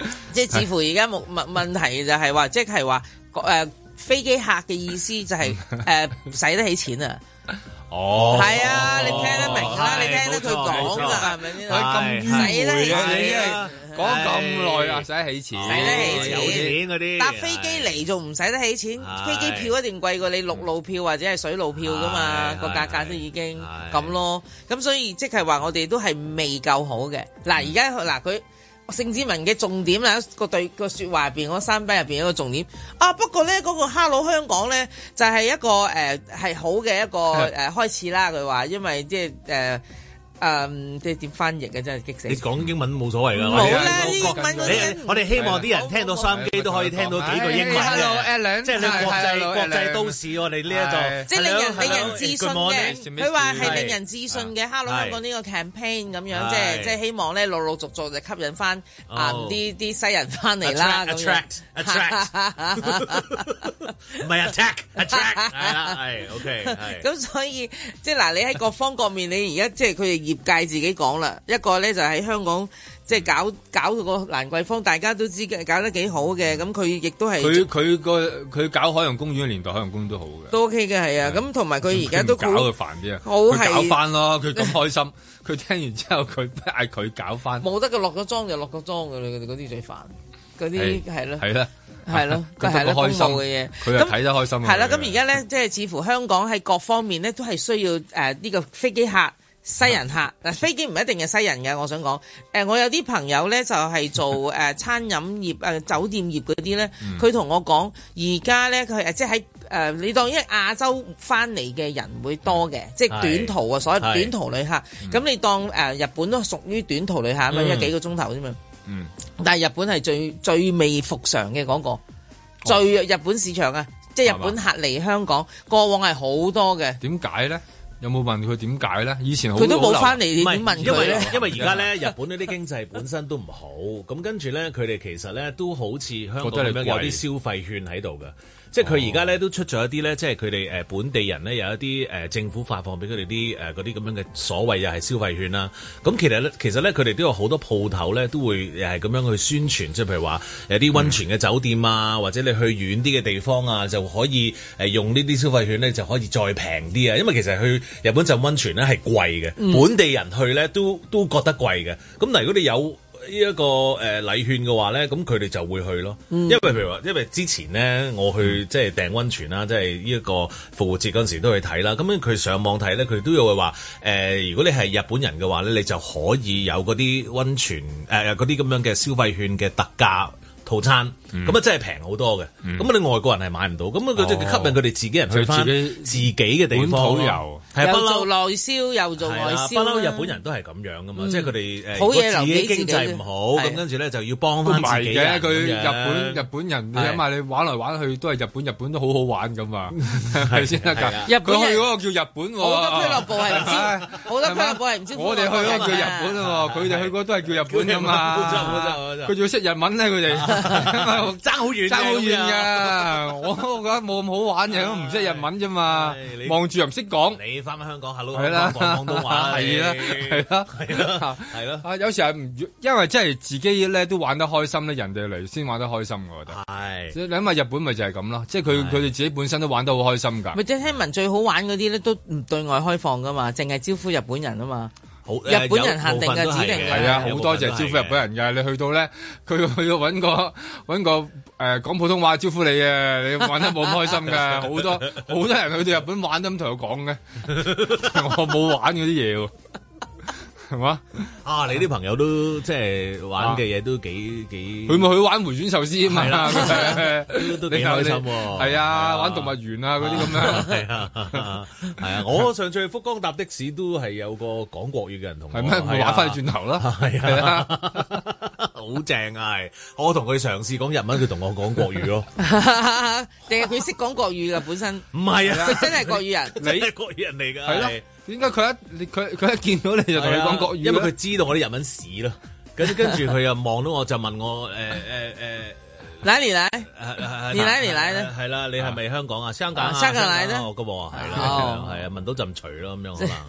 Speaker 3: 即係似乎而家冇問問題就係話，即係話誒飛機客嘅意思就係誒使得起錢啊！
Speaker 2: 哦，
Speaker 3: 係啊，你聽得明啦，你聽得佢講㗎，係咪先？
Speaker 2: 佢咁迂迴嘅，你真係講咁耐啊，使得起錢，
Speaker 3: 使得起錢，
Speaker 1: 有錢嗰啲
Speaker 3: 搭飛機嚟仲唔使得起錢？飛機票一定貴過你陸路票或者係水路票㗎嘛，個價格都已經咁咯。咁所以即係話我哋都係未夠好嘅。嗱，而家嗱佢。盛智文嘅重點啦，個對個説話入邊嗰三筆入邊一個重點啊。不過咧，嗰、那個 Hello 香港咧就係、是、一個誒係、呃、好嘅一個誒、呃、開始啦。佢話因為即係誒。呃誒，即係點翻譯嘅真係激死！
Speaker 1: 你講英文冇所謂㗎，
Speaker 3: 冇啦，英文嗰啲
Speaker 1: 我哋希望啲人聽到收音機都可以聽到幾個英文嘅，即係你國際國際都市我哋呢一度，
Speaker 3: 即係令人令人自信嘅。佢話係令人自信嘅 Hello 香港呢個 campaign 咁樣，即係即係希望咧陸陸續續就吸引翻啊啲啲西人翻嚟啦。
Speaker 1: attract attract，唔係 attack attract，係啦，係 OK，係。
Speaker 3: 咁所以即係嗱，你喺各方各面，你而家即係佢哋業界自己講啦，一個咧就喺香港即係搞搞個蘭桂坊，大家都知嘅，搞得幾好嘅。咁佢亦都係
Speaker 2: 佢佢個佢搞海洋公園嘅年代，海洋公園都好嘅，
Speaker 3: 都 OK 嘅，係啊。咁同埋佢而家都
Speaker 2: 搞佢煩啲啊，
Speaker 3: 好係
Speaker 2: 搞翻咯。佢咁開心，佢聽完之後佢嗌佢搞翻，
Speaker 3: 冇得佢落咗妝就落咗妝嘅啦。佢哋嗰啲最煩，嗰啲係咯，
Speaker 2: 係啦。
Speaker 3: 係咯，佢係咯，公務嘅嘢，
Speaker 2: 佢係睇得開心。
Speaker 3: 係啦，咁而家咧，即係似乎香港喺各方面咧，都係需要誒呢、呃這個飛機客、西人客。嗱、嗯，飛機唔一定係西人嘅，我想講。誒、呃，我有啲朋友咧就係、是、做誒、呃、餐飲業、誒、呃、酒店業嗰啲咧，佢同、嗯、我講，而家咧佢誒即係喺誒你當因為亞洲翻嚟嘅人會多嘅，即係短途啊，所謂短途旅客。咁、嗯、你當誒、呃、日本都屬於短途旅客啊嘛，因為幾個鐘頭啫嘛。嗯，但係日本係最最未復常嘅嗰、那個，哦、最日本市場啊，即係日本客嚟香港，吧過往係好多嘅。
Speaker 2: 點解咧？有冇問佢點解咧？以前
Speaker 3: 佢都冇翻嚟，你點問佢咧？
Speaker 1: 因為而家咧，日本嗰啲經濟本身都唔好，咁跟住咧，佢哋其實咧都好似香港咁樣有啲消費券喺度嘅。即係佢而家咧都出咗一啲咧，即係佢哋誒本地人咧有一啲誒、呃、政府發放俾佢哋啲誒嗰啲咁樣嘅所謂又係消費券啦。咁其實咧，其實咧佢哋都有好多鋪頭咧都會又係咁樣去宣傳，即係譬如話有啲溫泉嘅酒店啊，嗯、或者你去遠啲嘅地方啊，就可以誒用呢啲消費券咧就可以再平啲啊。因為其實去日本浸溫泉咧係貴嘅，嗯、本地人去咧都都覺得貴嘅。咁但係如果你有呢一個誒禮券嘅話咧，咁佢哋就會去咯。嗯、因為譬如話，因為之前咧我去即係訂溫泉啦，即係呢一個復活節嗰陣時都去睇啦。咁樣佢上網睇咧，佢都有話誒、呃，如果你係日本人嘅話咧，你就可以有嗰啲溫泉誒嗰啲咁樣嘅消費券嘅特價套餐，咁啊真係平好多嘅。咁啊你外國人係買唔到，咁啊佢就吸引佢哋自己人去翻自己嘅地方遊，係
Speaker 3: 又做內銷又做外銷。
Speaker 1: 不嬲日本人都係咁樣噶嘛，即係佢哋誒，
Speaker 3: 好嘢
Speaker 1: 自己經濟唔好，咁跟住咧就要幫翻自己人。
Speaker 2: 佢日本日本人，你諗下你玩嚟玩去都係日本，日本都好好玩噶嘛，係先得㗎。
Speaker 3: 日本
Speaker 2: 去嗰個叫日本喎，
Speaker 3: 好多俱樂部係唔知，好多俱樂部係唔知。
Speaker 2: 我哋去嗰個叫日本喎，佢哋去嗰都係叫日本㗎嘛。佢仲要識日文咧，佢哋。
Speaker 1: 爭好遠，
Speaker 2: 爭好遠㗎！我覺得冇咁好玩嘅，唔識日文啫嘛，望住又唔識講。
Speaker 1: 你翻返香港，hello，講廣東話，
Speaker 2: 係啦，係啦，係啦，係咯。啊，有時係唔，因為真係自己咧都玩得開心咧，人哋嚟先玩得開心，我覺得。係。你諗下日本咪就係咁咯，即係佢佢哋自己本身都玩得好開心㗎。
Speaker 3: 咪即係聽聞最好玩嗰啲咧，都唔對外開放㗎嘛，淨係招呼日本人啊嘛。
Speaker 1: 好
Speaker 3: 日本人限定嘅指定嘅，
Speaker 2: 係啊，好多謝招呼日本人嘅。你去到咧，佢去到揾個揾個誒講普通話招呼你嘅，你玩得冇咁開心㗎。好多好多人去到日本玩都咁同佢講嘅，我冇玩嗰啲嘢喎。係嘛？
Speaker 1: 啊！你啲朋友都即係玩嘅嘢都幾幾，
Speaker 2: 佢咪去玩回轉壽司啊嘛，
Speaker 1: 都都幾開心喎。
Speaker 2: 係啊，玩動物園啊嗰啲咁樣。
Speaker 1: 係啊，係啊！我上次去福岡搭的士都係有個講國語嘅人同我。
Speaker 2: 係咩？我玩翻去轉頭啦。係啊，
Speaker 1: 好正啊！係我同佢嘗試講日文，佢同我講國語咯。
Speaker 3: 定係佢識講國語㗎本身？
Speaker 1: 唔係啊，
Speaker 3: 佢真係國語人，
Speaker 1: 你係國語人嚟㗎。
Speaker 2: 係咯。點解佢一佢佢一見到你就同你講國語？
Speaker 1: 因為佢知道我啲日文屎咯。跟跟住佢又望到我就問我誒誒誒，
Speaker 3: 哪裡來？你哪裡來咧？
Speaker 1: 係啦，你係咪香港啊？香港啊？
Speaker 3: 香港來的。
Speaker 1: 我咁話係啦，係啊，聞到陣除咯咁樣可能。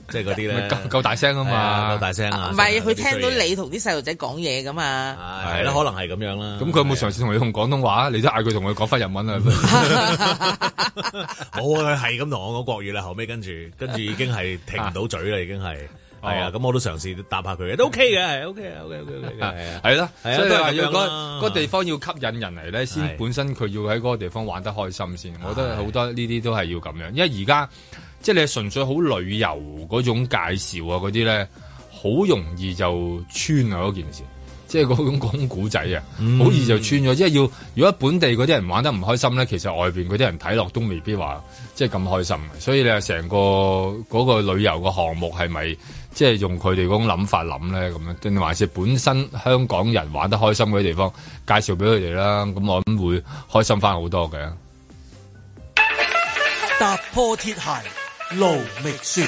Speaker 1: 即係嗰啲咧，
Speaker 2: 夠夠大聲啊嘛，
Speaker 1: 夠大聲啊！
Speaker 3: 唔係佢聽到你同啲細路仔講嘢噶嘛，
Speaker 1: 係啦，可能係咁樣啦。
Speaker 2: 咁佢有冇嘗試同你用廣東話？你都嗌佢同佢講翻日文啊？
Speaker 1: 冇啊，佢係咁同我講國語啦。後尾跟住跟住已經係停唔到嘴啦，已經係。係啊，咁我都嘗試答下佢嘅，都 OK 嘅，係 OK 啊 OK OK OK 嘅，係啊，
Speaker 2: 係啦，
Speaker 1: 係啊，
Speaker 2: 所以話要嗰
Speaker 1: 嗰
Speaker 2: 個地方要吸引人嚟咧，先本身佢要喺嗰個地方玩得開心先。我覺得好多呢啲都係要咁樣，因為而家即係你純粹好旅遊嗰種介紹啊嗰啲咧，好容易就穿啊嗰件事。即係嗰種講古仔啊，好易就穿咗。即係要如果本地嗰啲人玩得唔開心咧，其實外邊嗰啲人睇落都未必話即係咁開心。所以你話成個嗰個旅遊個項目係咪即係用佢哋嗰種諗法諗咧咁樣？定還是本身香港人玩得開心嗰啲地方介紹俾佢哋啦？咁我諗會開心翻好多嘅。
Speaker 7: 踏破鐵鞋路未雪。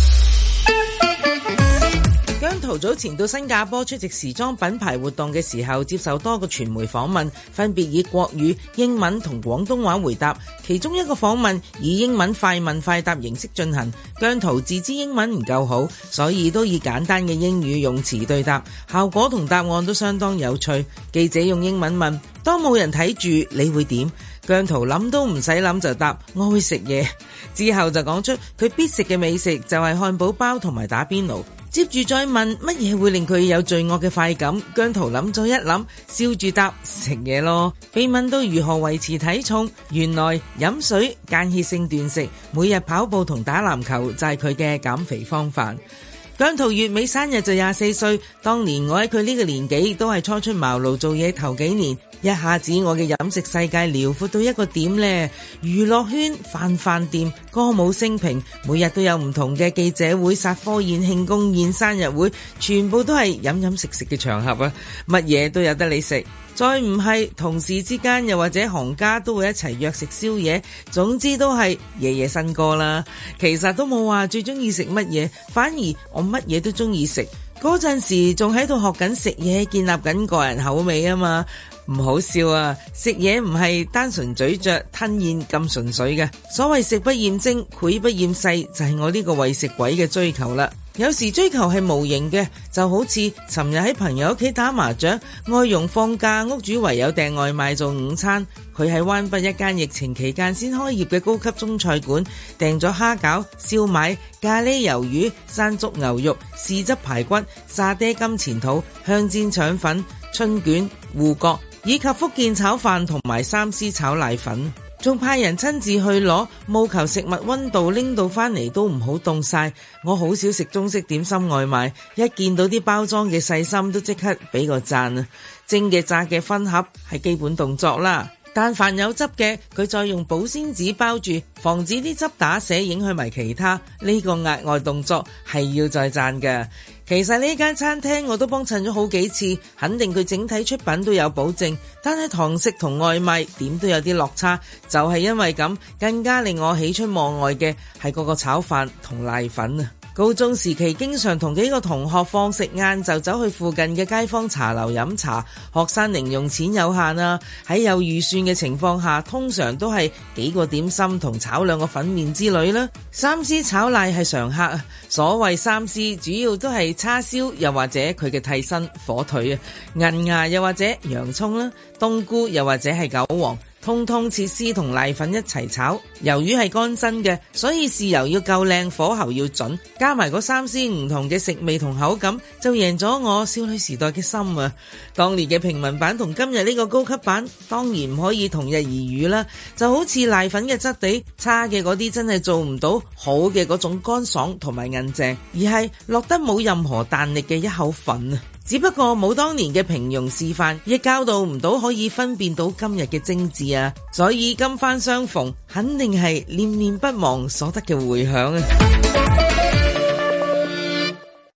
Speaker 3: 姜濤早前到新加坡出席時裝品牌活動嘅時候，接受多個傳媒訪問，分別以國語、英文同廣東話回答。其中一個訪問以英文快問快答形式進行，姜濤自知英文唔夠好，所以都以簡單嘅英語用詞對答，效果同答案都相當有趣。記者用英文問：當冇人睇住，你會點？姜濤諗都唔使諗就答：我會食嘢。之後就講出佢必食嘅美食就係漢堡包同埋打邊爐。接住再問乜嘢會令佢有罪惡嘅快感，姜濤諗咗一諗，笑住答：食嘢咯。被問到如何維持體重，原來飲水、間歇性斷食、每日跑步同打籃球就係佢嘅減肥方法。姜濤月尾生日就廿四歲，當年我喺佢呢個年紀都係初出茅廬做嘢頭幾年，一下子我嘅飲食世界遼闊到一個點呢，娛樂圈、飯飯店、歌舞升平，每日都有唔同嘅記者會、殺科宴、慶功宴、生日會，全部都係飲飲食食嘅場合啊，乜嘢都有得你食。再唔係同事之間又或者行家都會一齊約食宵夜，總之都係夜夜笙歌啦。其實都冇話最中意食乜嘢，反而我乜嘢都中意食。嗰陣時仲喺度學緊食嘢，建立緊個人口味啊嘛。唔好笑啊，食嘢唔係單純咀嚼吞咽咁純粹嘅。所謂食不厭精，膾不厭細，就係我呢個為食鬼嘅追求啦。有時追求係無形嘅，就好似尋日喺朋友屋企打麻雀，外傭放假，屋主唯有訂外賣做午餐。佢喺灣北一間疫情期間先開業嘅高級中菜館，訂咗蝦餃、燒賣、咖喱魷魚、山竹牛肉、豉汁排骨、沙爹金錢肚、香煎腸粉、春卷、芋角，以及福建炒飯同埋三絲炒瀨粉。仲派人親自去攞，務求食物溫度拎到翻嚟都唔好凍晒。我好少食中式點心外賣，一見到啲包裝嘅細心都即刻俾個讚啊！蒸嘅炸嘅分盒係基本動作啦，但凡有汁嘅，佢再用保鮮紙包住，防止啲汁打瀉影響埋其他。呢個額外動作係要再讚㗎。其實呢間餐廳我都幫襯咗好幾次，肯定佢整體出品都有保證，但係堂食同外賣點都有啲落差，就係因為咁，更加令我喜出望外嘅係嗰個炒飯同瀨粉啊！高中時期經常同幾個同學放食晏就走去附近嘅街坊茶樓飲茶，學生零用錢有限啊，喺有預算嘅情況下，通常都係幾個點心同炒兩個粉麵之類啦。三絲炒瀨係常客啊，所謂三絲主要都係叉燒又或者佢嘅替身火腿啊，銀芽又或者洋蔥啦，冬菇又或者係韭黃。通通切絲同瀨粉一齊炒，魷魚係乾身嘅，所以豉油要夠靚，火候要準，加埋嗰三絲唔同嘅食味同口感，就贏咗我少女時代嘅心啊！當年嘅平民版同今日呢個高級版，當然唔可以同日而語啦。就好似瀨粉嘅質地差嘅嗰啲，真係做唔到好嘅嗰種乾爽同埋韌淨，而係落得冇任何彈力嘅一口粉啊！只不過冇當年嘅平庸示範，亦教導唔到可以分辨到今日嘅精緻啊！所以今番相逢，肯定係念念不忘所得嘅回響啊！